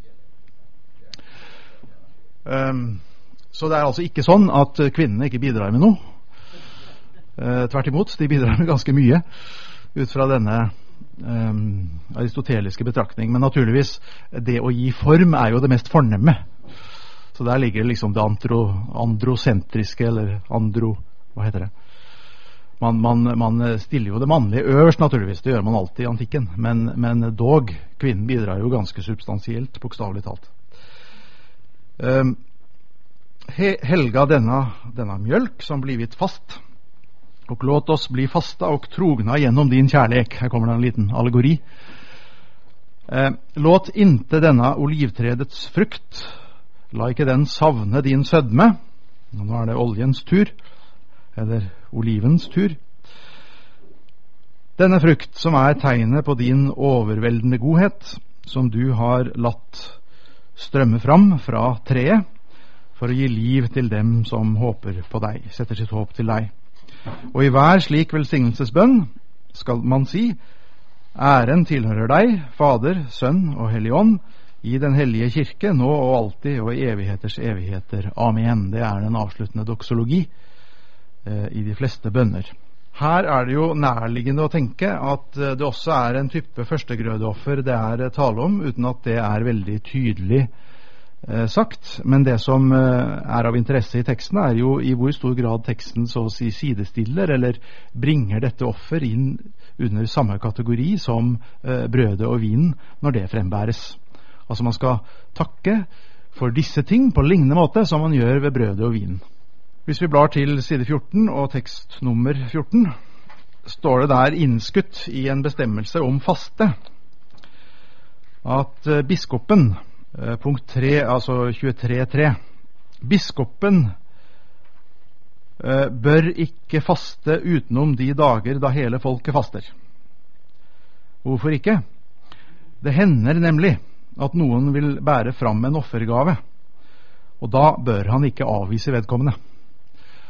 Så det er altså ikke sånn at kvinnene ikke bidrar med noe. Tvert imot, de bidrar med ganske mye ut fra denne aristoteliske betraktning. Men naturligvis, det å gi form er jo det mest fornemme. Så der ligger liksom det androsentriske, eller hva heter det? Man stiller jo det mannlige øverst, naturligvis. Det gjør man alltid i antikken. Men dog, kvinnen bidrar jo ganske substansielt, bokstavelig talt. Helga denne mjølk som blivit fast, og låt oss bli fasta og trogna gjennom din kjærlek. Her kommer det en liten allegori. Låt inte denne olivtredets frukt, la ikke den savne din sødme. Nå er det oljens tur, eller olivens tur. Denne frukt som er tegnet på din overveldende godhet, som du har latt strømme fram fra treet, for å gi liv til dem som håper på deg, setter sitt håp til deg. Og i hver slik velsignelsesbønn skal man si: æren tilhører deg, Fader, Sønn og Hellig Ånd, i den hellige kirke, nå og alltid og i evigheters evigheter. Amen. Det er den avsluttende doksologi i de fleste bønner. Her er det jo nærliggende å tenke at det også er en type førstegrødeoffer det er tale om, uten at det er veldig tydelig sagt. Men det som er av interesse i teksten, er jo i hvor stor grad teksten så å si sidestiller eller bringer dette offer inn under samme kategori som brødet og vinen når det frembæres. Altså man skal takke for disse ting på lignende måte som man gjør ved brødet og vinen. Hvis vi blar til side 14 og tekst nummer 14, står det der innskutt i en bestemmelse om faste at biskopen, punkt 3, altså 23.3, biskopen bør ikke faste utenom de dager da hele folket faster. Hvorfor ikke? Det hender nemlig at noen vil bære fram en offergave, og da bør han ikke avvise vedkommende.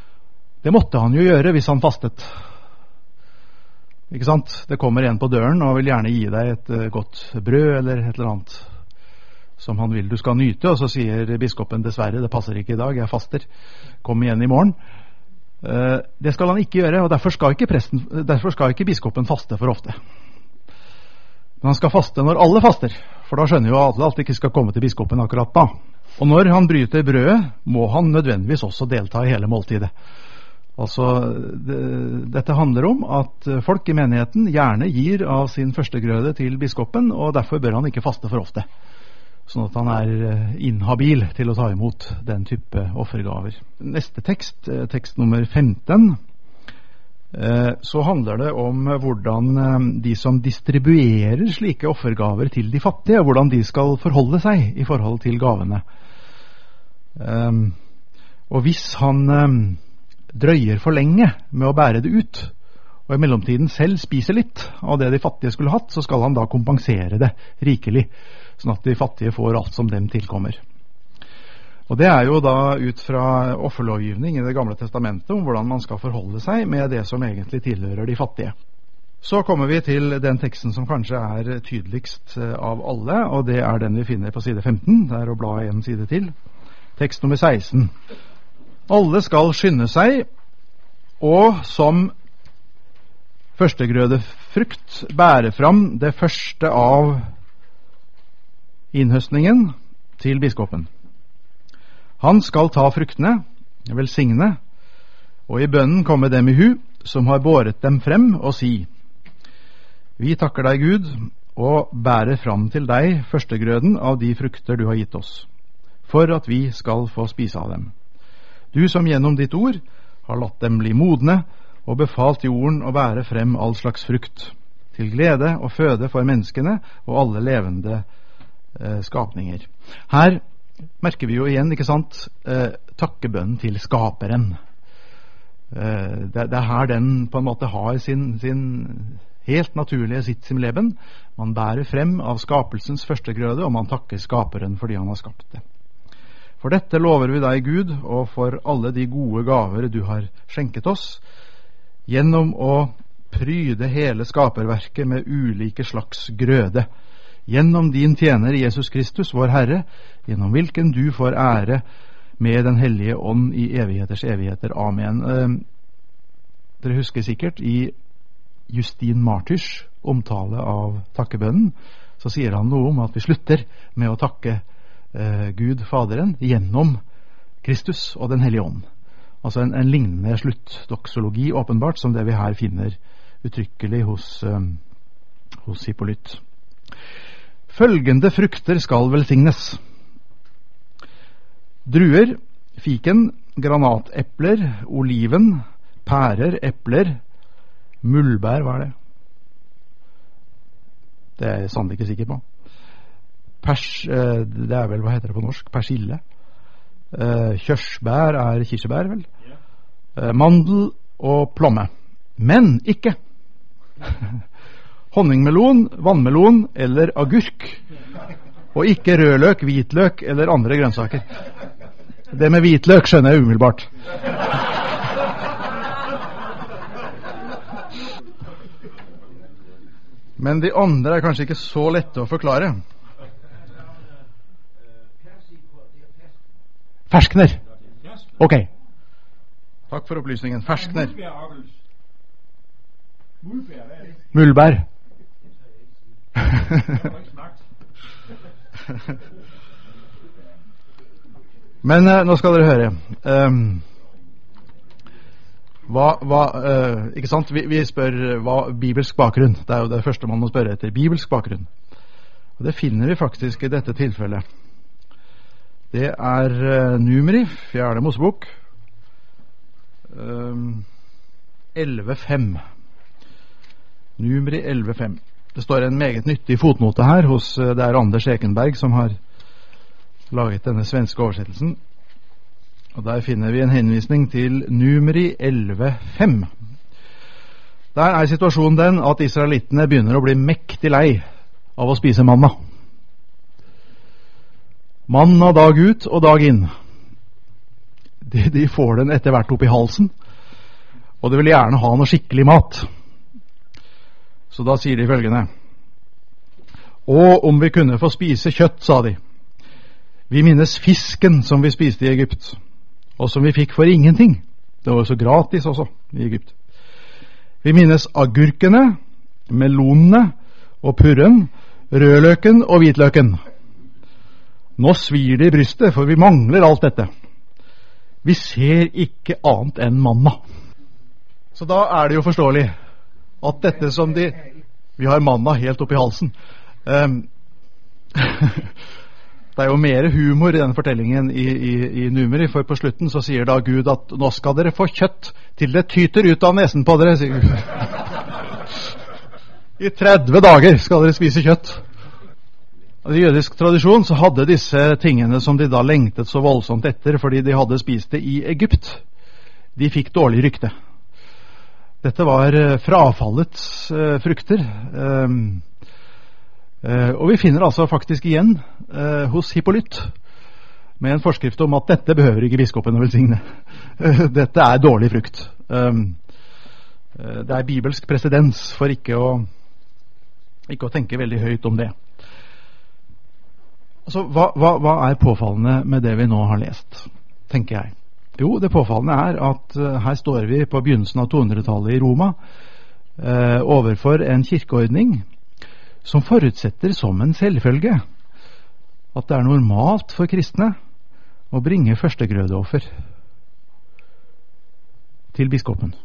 Det måtte han jo gjøre hvis han fastet. Ikke sant? Det kommer en på døren og vil gjerne gi deg et godt brød eller et eller annet som han vil du skal nyte, og så sier biskopen dessverre, det passer ikke i dag, jeg faster, kom igjen i morgen. Det skal han ikke gjøre, og derfor skal ikke biskopen faste for ofte. Men han skal faste når alle faster, for da skjønner jo alle at det ikke skal komme til biskopen akkurat da. Og når han bryter brødet, må han nødvendigvis også delta i hele måltidet. Altså, dette handler om at folk i menigheten gjerne gir av sin førstegrøde til biskopen, og derfor bør han ikke faste for ofte, sånn at han er inhabil til å ta imot den type offergaver. Neste tekst, tekst nummer 15, så handler det om hvordan de som distribuerer slike offergaver til de fattige, hvordan de skal forholde seg i forhold til gavene. Og hvis han drøyer for lenge med å bære det ut, og i mellomtiden selv spiser litt av det de fattige skulle hatt, så skal han da kompensere det rikelig, sånn at de fattige får alt som dem tilkommer. Og det er jo da ut fra offerlovgivning i Det gamle testamentet om hvordan man skal forholde seg med det som egentlig tilhører de fattige. Så kommer vi til den teksten som kanskje er tydeligst av alle, og det er den vi finner på side 15, det er å bla en side til. Tekst nummer 16. Alle skal skynde seg, og som førstegrødefrukt bære fram det første av innhøstningen til biskopen. Han skal ta fruktene, velsigne, og i bønnen komme dem i hu, som har båret dem frem, og si: Vi takker deg, Gud, og bærer fram til deg førstegrøden av de frukter du har gitt oss, for at vi skal få spise av dem. Du som gjennom ditt ord har latt dem bli modne, og befalt jorden å bære frem all slags frukt, til glede og føde for menneskene og alle levende skapninger. Her merker vi jo igjen, ikke sant, takkebønnen til skaperen. Det er her den på en måte har sin helt naturlige sitt som leben. Man bærer frem av skapelsens førstegrøde, og man takker skaperen fordi han har skapt det. For dette lover vi deg, Gud, og for alle de gode gaver du har skjenket oss, gjennom å pryde hele skaperverket med ulike slags grøde, gjennom din tjener Jesus Kristus, vår Herre, gjennom hvilken du får ære med den hellige ånd i evigheters evigheter. Amen. Dere husker sikkert i Justin Martyrs omtale av takkebønnen, så sier han noe om at vi slutter med å takke Gud Faderen gjennom Kristus og den hellige ånd. Altså en lignende sluttdoksologi åpenbart som det vi her finner uttrykkelig hos Hippolyt. Følgende frukter skal velsignes: druer, fiken, granatepler, oliven, pærer, epler, muldbær, hva er det? Det er jeg sannelig ikke sikker på. Det er vel, hva heter det på norsk? Persille. Kjørsbær er kirsebær, vel? Mandel og plomme. Men ikke honningmelon, vannmelon eller agurk. Og ikke rødløk, hvitløk eller andre grønnsaker. Det med hvitløk skjønner jeg umiddelbart. Men de andre er kanskje ikke så lette å forklare. Ferskner. Ok. Takk for opplysningen. Ferskner. Muldbær. Men nå skal dere høre. Ikke sant? Vi spør hva bibelsk bakgrunn. Det er jo det første man må spørre etter. Bibelsk bakgrunn. Og det finner vi faktisk i dette tilfellet. Det er Numeri, 4. Mosebok, 11.5. Numeri 11.5. Det står en meget nyttig fotnote her hos det er Anders Ekenberg som har laget denne svenske oversettelsen. Og der finner vi en henvisning til Numeri 11.5. Der er situasjonen den at israelittene begynner å bli mektig lei av å spise manna. Manna dag ut og dag inn. De får den etter hvert opp i halsen. og de ville gjerne ha noe skikkelig mat. Så da sier de følgende: «Og om vi kunne få spise kjøtt», sa de. «Vi minnes fisken som vi spiste i Egypt, og som vi fikk for ingenting. Det var jo så gratis også i Egypt. Vi minnes agurkene, melonene og purren, rødløken og hvitløken. Nå svir det i brystet, for vi mangler alt dette. Vi ser ikke annet enn manna.» Så da er det jo forståelig at dette som vi har manna helt opp i halsen. Det er jo mer humor i denne fortellingen i Numeri, for på slutten så sier da Gud at nå skal dere få kjøtt til det tyter ut av nesen på dere, sier Gud. I 30 dager skal dere spise kjøtt. I jødisk tradisjon så hadde disse tingene som de da lengtet så voldsomt etter fordi de hadde spist det i Egypt, de fikk dårlig rykte. Dette var frafallets frukter. Og vi finner altså faktisk igjen hos Hippolyt med en forskrift om at dette behøver ikke biskopen å velsigne. Dette er dårlig frukt. Det er bibelsk presedens for ikke å tenke veldig høyt om det. Altså, hva er påfallende med det vi nå har lest, tenker jeg? Jo, det påfallende er at her står vi på begynnelsen av 200-tallet i Roma overfor en kirkeordning som forutsetter som en selvfølge at det er normalt for kristne å bringe førstegrødeoffer til biskopen.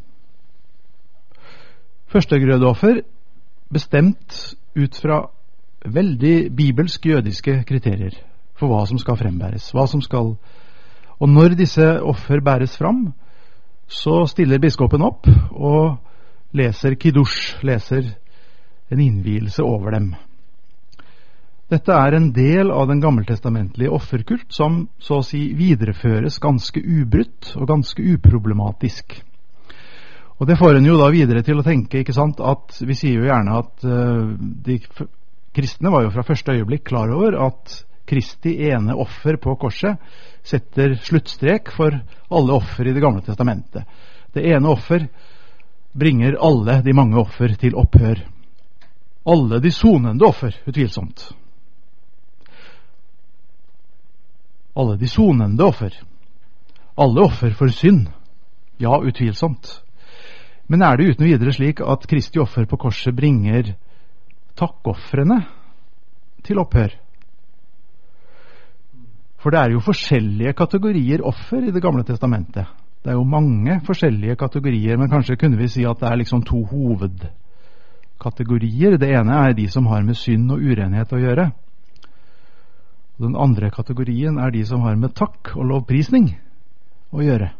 Førstegrødeoffer bestemt ut fra veldig bibelsk jødiske kriterier for hva som skal frembæres, og når disse offer bæres fram, så stiller biskopen opp og leser kiddush, leser en innvielse over dem. Dette er en del av den gammeltestamentlige offerkult som så å si videreføres ganske ubrutt og ganske uproblematisk. Og det får en jo da videre til å tenke, ikke sant, at vi sier jo gjerne at de kristne var jo fra første øyeblikk klar over at Kristi ene offer på korset setter sluttstrek for alle offer i det gamle testamentet. Det ene offer bringer alle de mange offer til opphør. Alle de sonende offer, utvilsomt. Alle de sonende offer. Alle offer for synd. Ja, utvilsomt. Men er det uten videre slik at Kristi offer på korset bringer takkoffrene til opphør? For det er jo forskjellige kategorier offer i det gamle testamentet. Det er jo mange forskjellige kategorier, men kanskje kunne vi si at det er liksom to hovedkategorier. Det ene er de som har med synd og urenhet å gjøre. Den andre kategorien er de som har med takk og lovprisning å gjøre.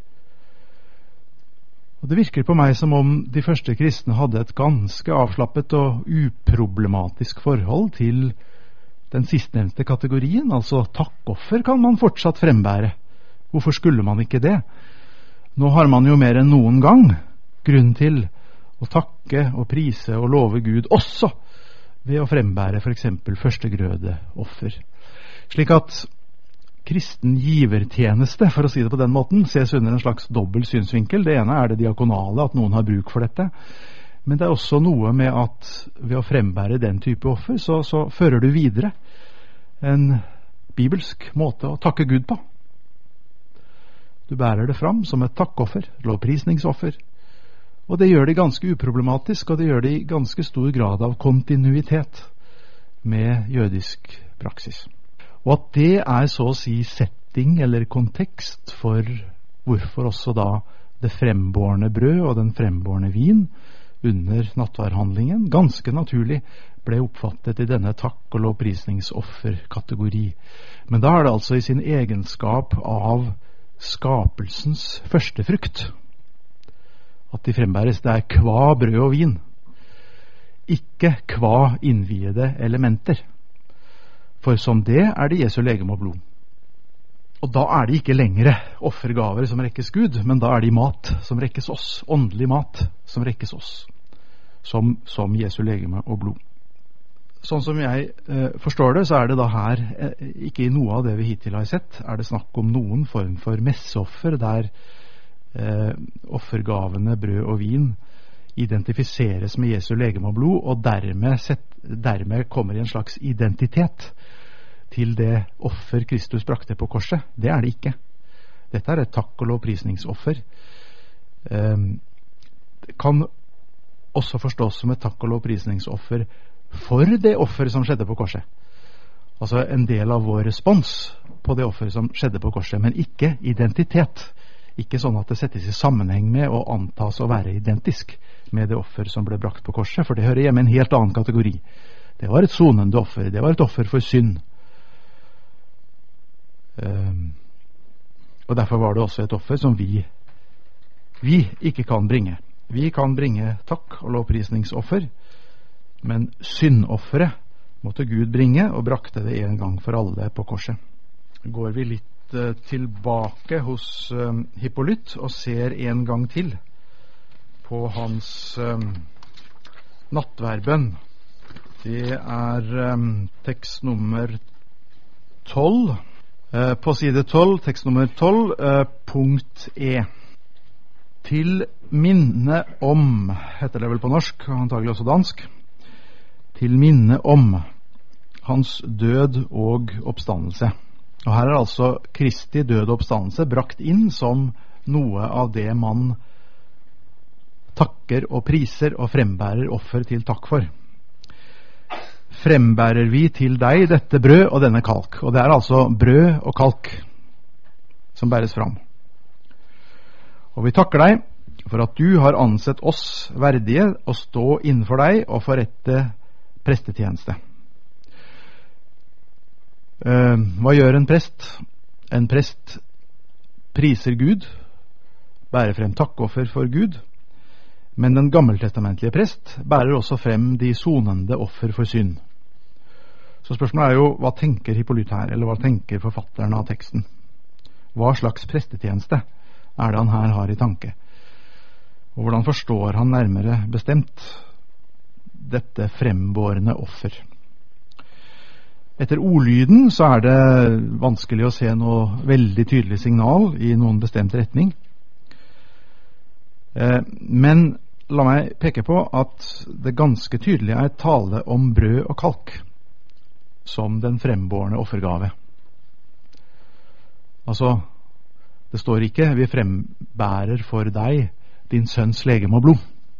Og det virker på meg som om de første kristne hadde et ganske avslappet og uproblematisk forhold til den sistnevnte kategorien, altså takkoffer kan man fortsatt frembære. Hvorfor skulle man ikke det? Nå har man jo mer enn noen gang grunn til å takke og prise og love Gud også ved å frembære for eksempel førstegrødeoffer. Slik at kristen givertjeneste, for å si det på den måten, ses under en slags dobbel synsvinkel. Det ene er det diakonale, at noen har bruk for dette. Men det er også noe med at ved å frembære den type offer, så fører du videre en bibelsk måte å takke Gud på. Du bærer det fram som et takkoffer, lovprisningsoffer. Og det gjør det ganske uproblematisk, og det gjør det i ganske stor grad av kontinuitet med jødisk praksis. Og at det er så å si setting eller kontekst for hvorfor også da det frembårne brød og den frembårne vin under nattverdhandlingen ganske naturlig ble oppfattet i denne takk- og lovprisningsofferkategori. Men da er det altså i sin egenskap av skapelsens første frukt at de frembæres. Det er kva brød og vin, ikke kva innviede elementer. For som det er det Jesu legeme og blod. Og da er det ikke lengre offergaver som rekkes Gud, men da er det mat som rekkes oss, åndelig mat som rekkes oss, som Jesu legeme og blod. Sånn som jeg forstår det, så er det da her, ikke i noe av det vi hittil har sett, er det snakk om noen form for messeoffer der offergavene brød og vin identifiseres med Jesu legeme og blod, og dermed kommer i en slags identitet til det offer Kristus brakte på korset. Det er det ikke. Dette er et takk- og lovprisningsoffer. Det kan også forstås som et takk- og lovprisningsoffer for det offer som skjedde på korset. Altså en del av vår respons på det offer som skjedde på korset, men ikke identitet. Ikke sånn at det settes i sammenheng med og antas å være identisk med det offer som ble brakt på korset, for det hører hjemme i en helt annen kategori. Det var et sonende offer, det var et offer for synd. Og derfor var det også et offer som vi ikke kan bringe. Vi kan bringe takk- og lovprisningsoffer, men syndofferet måtte Gud bringe, og brakte det en gang for alle på korset. Går vi litt tilbake hos Hippolyt og ser en gang til på hans nattverdbønn. Det er tekst nummer 12. På side 12, tekst nummer 12, punkt E. Til minne om, heter det vel på norsk, og antagelig også dansk, til minne om hans død og oppstandelse. Og her er altså Kristi død og oppstandelse brakt inn som noe av det man takker og priser og frembærer offer til takk for. Frembærer vi til deg dette brød og denne kalk. Og det er altså brød og kalk som bæres fram. Og vi takker deg for at du har ansett oss verdige å stå innenfor deg og forrette prestetjeneste. Hva gjør en prest? En prest priser Gud, bærer frem takkoffer for Gud, men den gammeltestamentlige prest bærer også frem de sonende offer for synd. Så spørsmålet er jo, hva tenker Hippolyt her, eller hva tenker forfatteren av teksten? Hva slags prestetjeneste er det han her har i tanke? Og hvordan forstår han nærmere bestemt dette frembårende offer? Etter ordlyden så er det vanskelig å se noe veldig tydelig signal i noen bestemt retning. Men la meg peke på at det ganske tydelig er tale om brød og kalk som den frembårne offergave. Altså, det står ikke vi frembærer for deg din sønns legeme og blod.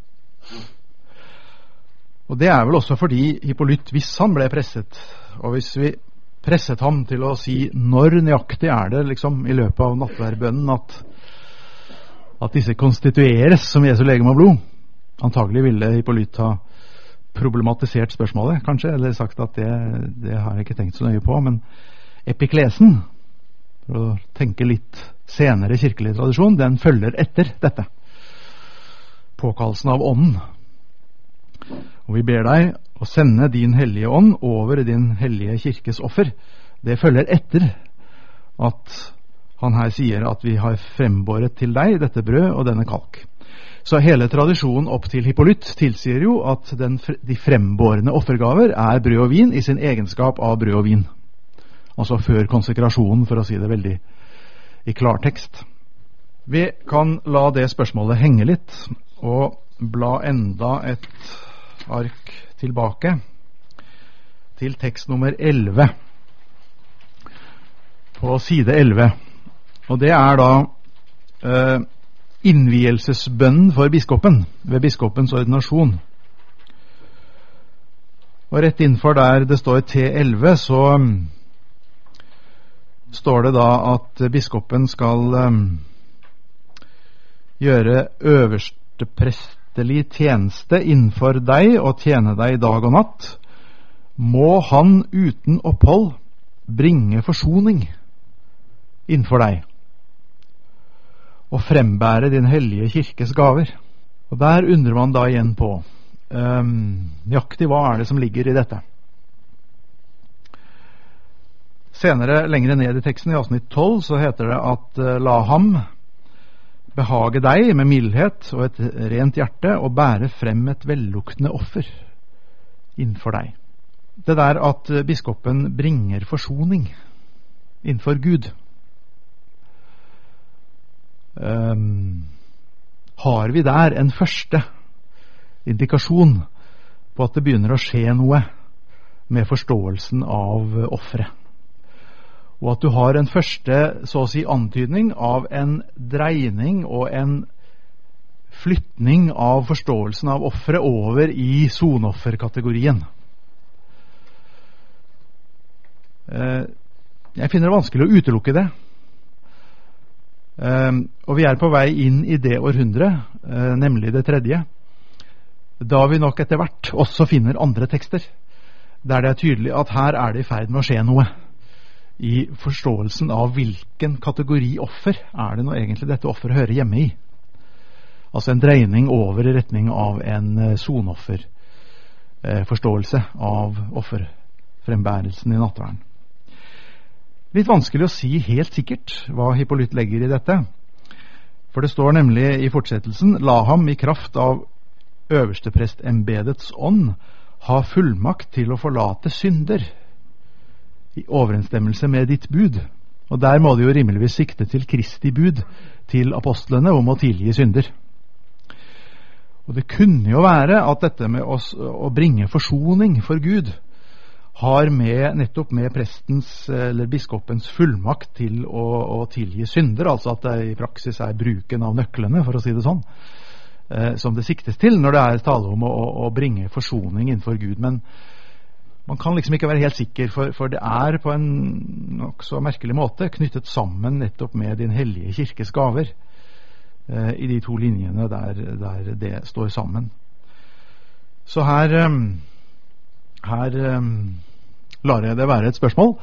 Og det er vel også fordi Hippolyt, hvis han ble presset, og hvis vi presset ham til å si når nøyaktig er det liksom i løpet av nattverdbønnen at disse konstitueres som Jesu legeme og blod, antagelig ville Hippolyt ha problematisert spørsmålet, kanskje, eller sagt at det har jeg ikke tenkt så nøye på, men epiklesen, for å tenke litt senere kirkelig tradisjon, den følger etter dette. Påkallelsen av ånden. Og vi ber deg å sende din hellige ånd over din hellige kirkes offer. Det følger etter at han her sier at vi har frembåret til deg dette brød og denne kalk. Så hele tradisjonen opp til Hippolyt tilsier jo at de frembårende offergaver er brød og vin i sin egenskap av brød og vin. Altså før konsekrasjonen, for å si det veldig i klartekst. Vi kan la det spørsmålet henge litt og bla enda et ark tilbake til tekst nummer 11 på side 11, og det er da innvielsesbønnen for biskopen ved biskopens ordinasjon. Og rett innenfor der det står T11 så står det da at biskopen skal gjøre øverste prestelig tjeneste innenfor deg og tjene deg dag og natt. Må han uten opphold bringe forsoning innenfor deg og frembære din hellige kirkes gaver. Og der undrer man da igjen på nøyaktig hva er det som ligger i dette. Senere, lengre ned i teksten i avsnitt 12, så heter det at la ham behage deg med mildhet og et rent hjerte og bære frem et velluktende offer innenfor deg. Det der at biskopen bringer forsoning innenfor Gud, har vi der en første indikasjon på at det begynner å skje noe med forståelsen av offeret. Og at du har en første, så å si, antydning av en dreining og en flytning av forståelsen av offeret over i sonofferkategorien. Jeg finner det vanskelig å utelukke det. Og vi er på vei inn i det århundret, nemlig det tredje, da vi nok etter hvert også finner andre tekster, der det er tydelig at her er det i ferd med å skje noe i forståelsen av hvilken kategori offer er det nå egentlig dette offeret hører hjemme i. Altså en dreining over i retning av en sonofferforståelse av offerfrembærelsen i nattverden. Litt vanskelig å si helt sikkert hva Hippolyt legger i dette, for det står nemlig i fortsettelsen: la ham i kraft av øversteprestembedets ånd ha fullmakt til å forlate synder i overensstemmelse med ditt bud. Og der må det jo rimeligvis sikte til Kristi bud til apostlene om å tilgi synder. Og det kunne jo være at dette med å bringe forsoning for Gud har nettopp med prestens eller biskopens fullmakt til å tilgi synder, altså at det i praksis er bruken av nøklene, for å si det sånn, som det siktes til når det er tale om å bringe forsoning innenfor Gud. Men man kan liksom ikke være helt sikker, for det er på en nok så merkelig måte knyttet sammen nettopp med din hellige kirkes gaver i de to linjene der det står sammen. Så her lar jeg det være et spørsmål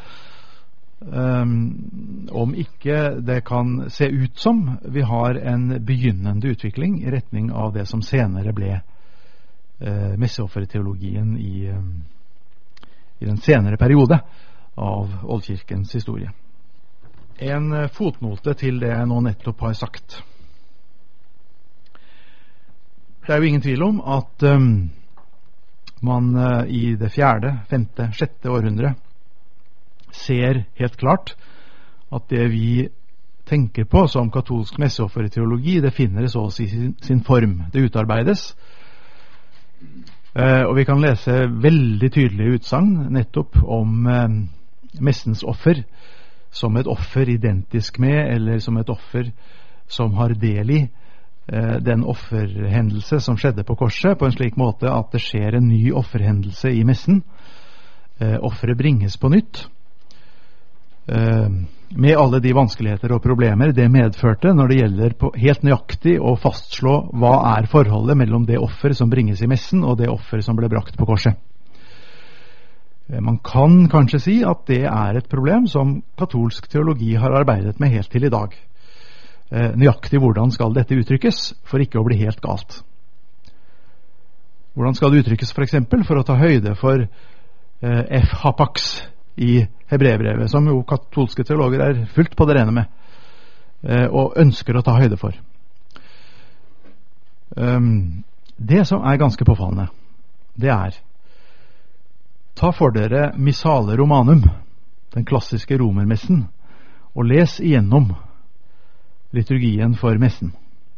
om ikke det kan se ut som vi har en begynnende utvikling i retning av det som senere ble messeofferteologien i den senere periode av oldkirkens historie. En fotnote til det jeg nå nettopp har sagt. Det er jo ingen tvil om at man i det 4., 5., 6. århundre ser helt klart at det vi tenker på som katolsk messeofferteologi, det finner så å si sin form. Det utarbeides, og vi kan lese veldig tydelige utsagn nettopp om messens offer som et offer identisk med, eller som et offer som har del i den offerhendelse som skjedde på korset, på en slik måte at det skjer en ny offerhendelse i messen. Offeret bringes på nytt, med alle de vanskeligheter og problemer det medførte når det gjelder på helt nøyaktig å fastslå hva er forholdet mellom det offer som bringes i messen og det offer som ble brakt på korset. Man kan kanskje si at det er et problem som katolsk teologi har arbeidet med helt til i dag. Nøyaktig hvordan skal dette uttrykkes for ikke å bli helt galt. Hvordan skal det uttrykkes for eksempel for å ta høyde for hapax i Hebreerbrevet, som jo katolske teologer er fullt på det rene med og ønsker å ta høyde for. Det som er ganske påfallende, det er: ta for dere Missale Romanum, den klassiske romermessen, og les igjennom liturgien for messen.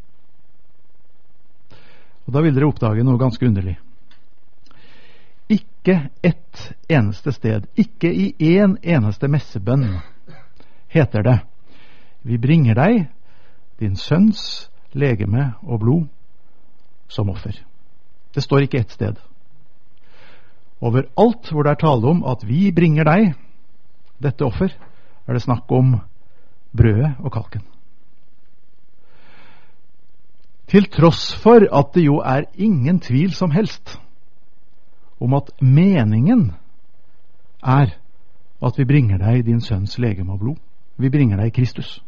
Og da vil dere oppdage noe ganske underlig. Ikke ett eneste sted, ikke i en eneste messebønn, heter det: vi bringer deg din sønns legeme og blod som offer. Det står ikke ett sted. Overalt hvor det er tale om at vi bringer deg dette offer, er det snakk om brødet og kalken. Til tross for at det jo er ingen tvil som helst om at meningen er at vi bringer deg din sønns legeme og blod. Vi bringer deg Kristus.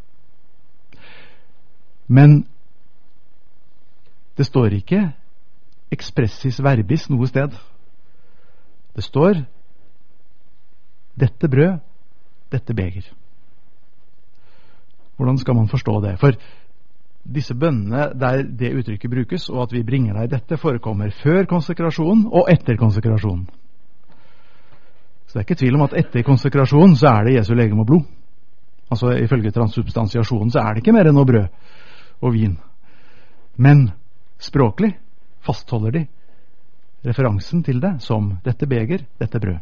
Men det står ikke expressis verbis noe sted. Det står dette brød, dette beger. Hvordan skal man forstå det? For disse bønnene der det uttrykket brukes, og at vi bringer deg dette, forekommer før konsekrasjonen og etter konsekrasjonen. Så det er ikke tvil om at etter konsekrasjonen så er det Jesu legeme og blod. Altså ifølge transsubstansiasjonen så det ikke mer enn noe brød og vin. Men språklig fastholder de referansen til det som dette beger, dette brød.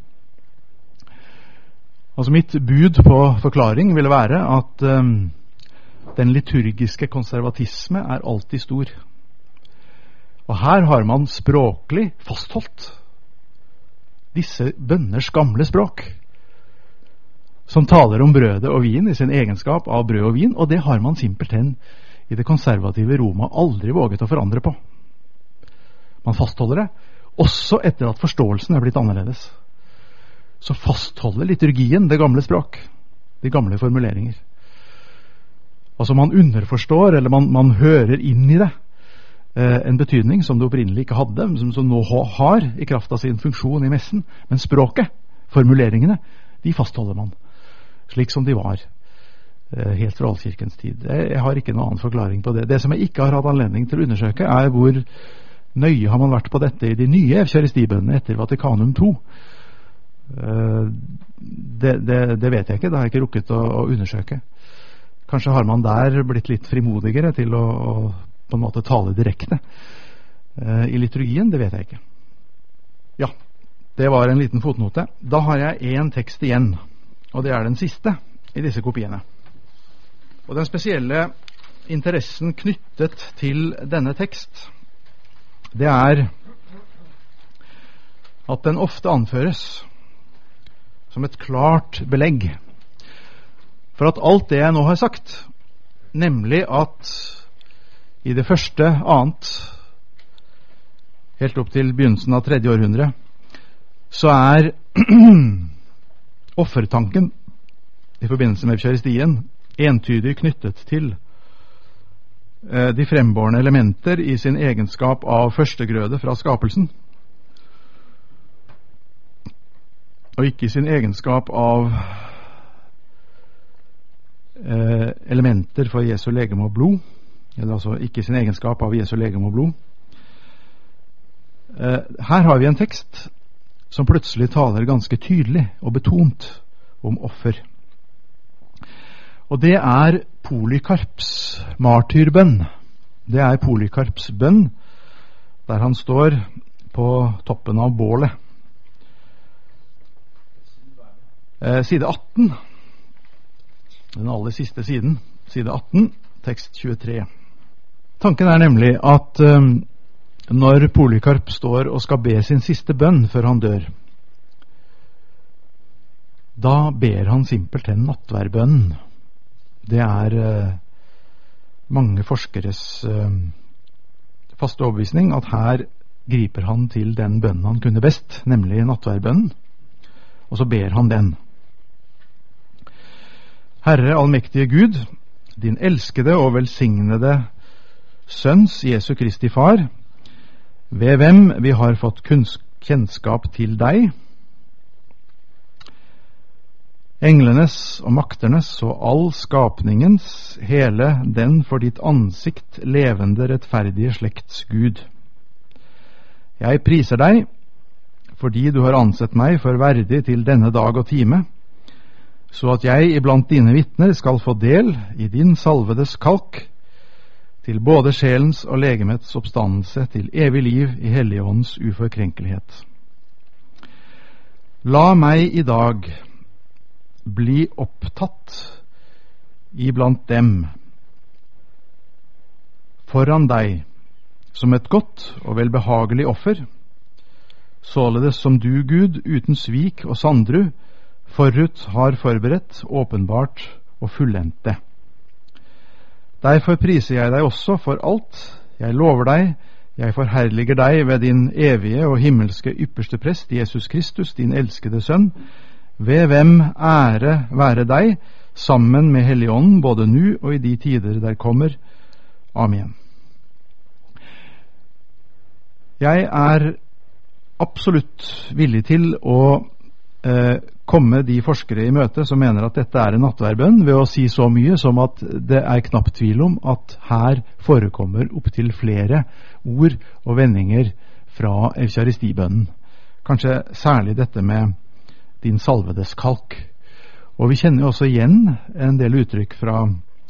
Altså mitt bud på forklaring ville være at den liturgiske konservatisme alltid stor. Og her har man språklig fastholdt disse bønners gamle språk, som taler om brødet og vin i sin egenskap av brød og vin, og det har man simpelthen i det konservative Roma aldri våget å forandre på. Man fastholder det, også etter at forståelsen blitt annerledes. Så fastholder liturgien det gamle språk, de gamle formuleringer. Altså man underforstår, eller man hører inn i det, en betydning som det opprinnelig ikke hadde, som nå har i kraft av sin funksjon i messen, men språket, formuleringene, de fastholder man, slik som de var helt fra oldkirkens tid. Jeg har ikke noen annen forklaring på det. Det som jeg ikke har hatt anledning til å undersøke, hvor nøye har man vært på dette i de nye evkaristibønnene etter Vatikanum II. Det vet jeg ikke, det har jeg ikke rukket å undersøke. Kanskje har man der blitt litt frimodigere til å på en måte tale direkte i liturgien, det vet jeg ikke. Ja, det var en liten fotnote. Da har jeg en tekst igjen, og det den siste i disse kopiene. Og den spesielle interessen knyttet til denne tekst, det at den ofte anføres som et klart belegg for at alt det jeg nå har sagt, nemlig at i det første, annet, helt opp til begynnelsen av 3. århundre, så offertanken i forbindelse med eukaristien entydig knyttet til de frembårne elementer i sin egenskap av førstegrøde fra skapelsen, og ikke i sin egenskap av elementer for Jesu legeme og blod, eller altså ikke i sin egenskap av Jesu legeme og blod. Her har vi en tekst som plutselig taler ganske tydelig og betont om offer. Og det Polykarps martyrbønn. Det Polykarps bønn, der han står på toppen av bålet. Side 18, den aller siste siden, side 18, tekst 23. Tanken nemlig at når Polykarp står og skal be sin siste bønn før han dør, da ber han simpelthen nattverdbønnen. Det mange forskeres faste overbevisning at her griper han til den bønnen han kunne best, nemlig nattverdbønnen, og så ber han den. Herre allmektige Gud, din elskede og velsignede Sønns Jesu Kristi Far, ved hvem vi har fått kjennskap til deg, englenes og makternes og all skapningens, hele den for ditt ansikt levende rettferdige slekts Gud. Jeg priser deg, fordi du har ansett meg for verdig til denne dag og time, så at jeg iblant dine vitner skal få del i din salvedes kalk, til både sjelens og legemets oppstandelse til evig liv i Helligåndens uforkrenkelighet. La meg i dag bli opptatt iblant dem foran deg som et godt og velbehagelig offer, således som du, Gud, uten svik og sandru, forut har forberedt, åpenbart og fullendt det. Derfor priser jeg deg også for alt. Jeg lover deg, jeg forherliger deg ved din evige og himmelske ypperste prest, Jesus Kristus, din elskede sønn, ved hvem ære være deg, sammen med Helligånden, både nu og i de tider der kommer. Amen. Jeg absolutt villig til å komme de forskere i møte som mener at dette en nattverdbønn, ved å si så mye som at det knapt tvil om at her forekommer opp til flere ord og vendinger fra eukaristibønnen. Kanskje særlig dette med din salvedes kalk. Og vi kjenner jo også igjen en del uttrykk fra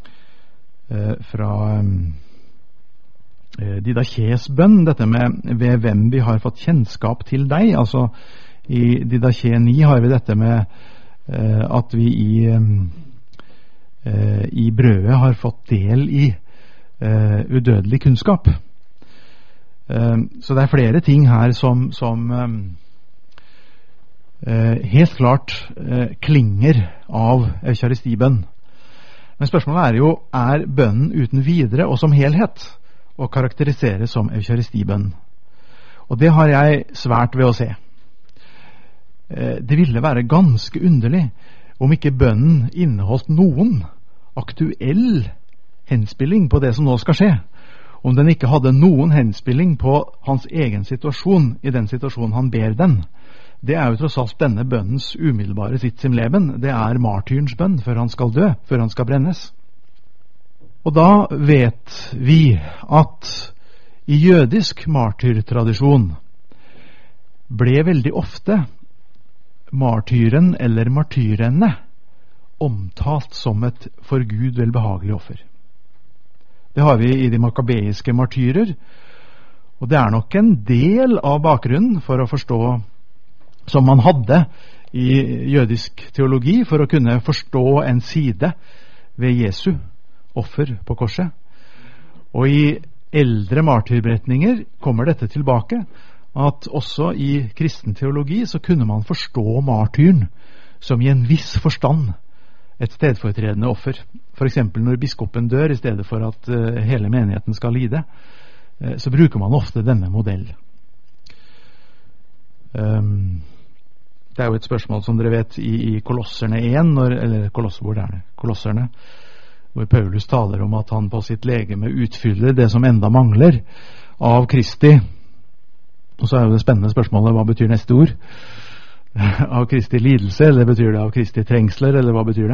Didaches bønn, dette med ved hvem vi har fått kjennskap til deg. Altså i Didache 9 har vi dette med at vi i brødet har fått del i udødelig kunnskap. Så det er flere ting her som helt klart klinger av eukaristibønn. Men spørsmålet er jo, er bønnen uten videre og som helhet å karakterisere som eukaristibønn? Og det har jeg svært ved å se. Det ville være ganske underlig om ikke bønnen inneholdt noen aktuell henspilling på det som nå skal skje, om den ikke hadde noen henspilling på hans egen situasjon i den situasjonen han ber den. Det er jo tross alt denne bønnens umiddelbare sitt sim leben. Det er martyrens bønn før han skal dø, før han skal brennes. Og da vet vi at i jødisk martyrtradisjon ble veldig ofte martyren eller martyrene omtalt som et for Gud velbehagelig offer. Det har vi i de makabeiske martyrer, og det er nok en del av bakgrunnen for å forstå, som man hadde i jødisk teologi, for å kunne forstå en side ved Jesu offer på korset. Og i eldre martyrberetninger kommer dette tilbake, at også i kristen teologi så kunne man forstå martyren som i en viss forstand et stedfortredende offer. For eksempel når biskopen dør, i stedet for at hele menigheten skal lide, så bruker man ofte denne modell. Det er jo et spørsmål som dere vet i Kolosserne 1, Kolosserne, hvor Paulus taler om at han på sitt legeme utfyller det som enda mangler av Kristi. Og så er jo det spennende spørsmålet, hva betyr neste ord? Av Kristi lidelse, eller betyr det av Kristi trengsler, eller hva betyr det?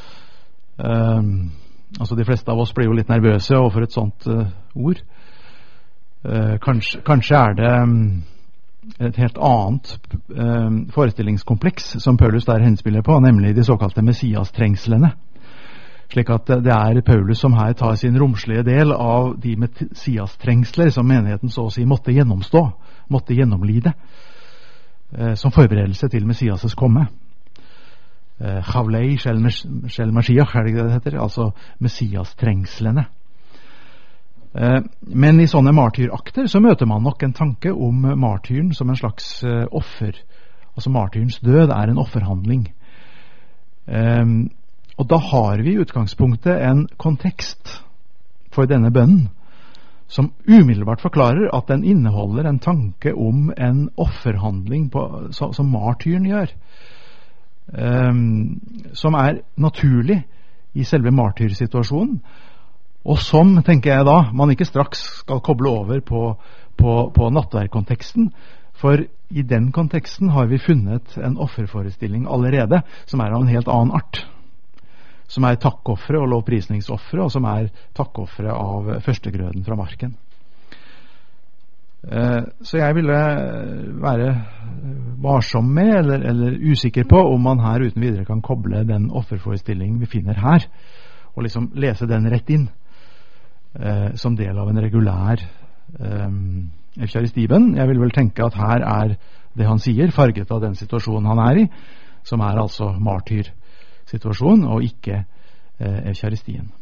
Altså de fleste av oss blir jo litt nervøse overfor et sånt ord. Kanskje er det et helt annet forestillingskompleks som Paulus der henspiller på, nemlig de såkalte Messias-trengslene. Slik at det er Paulus som her tar sin romslige del av de Messias-trengsler som menigheten så å si måtte gjennomstå, måtte gjennomlide, som forberedelse til Messias' komme. Chavlei shel Mashiach, er det ikke det heter? Altså Messias-trengslene. Men i sånne martyrakter så møter man nok en tanke om martyren som en slags offer. Altså martyrens død er en offerhandling. Og da har vi i utgangspunktet en kontekst for denne bønnen som umiddelbart forklarer at den inneholder en tanke om en offerhandling som martyren gjør, som er naturlig i selve martyrsituasjonen, og som, tenker jeg da, man ikke straks skal koble over på nattverdkonteksten, for i den konteksten har vi funnet en offerforestilling allerede som er av en helt annen art, som er takkoffre og lovprisningsoffre, og som er takkoffre av førstegrøden fra marken. Så jeg ville være varsom med, eller usikker på, om man her uten videre kan koble den offerforestillingen vi finner her, og liksom lese den rett inn, som del av en regulær eukaristibønn. Jeg vil vel tenke at her er det han sier farget av den situasjonen han er i, som er altså martyrsituasjon og ikke eukaristien.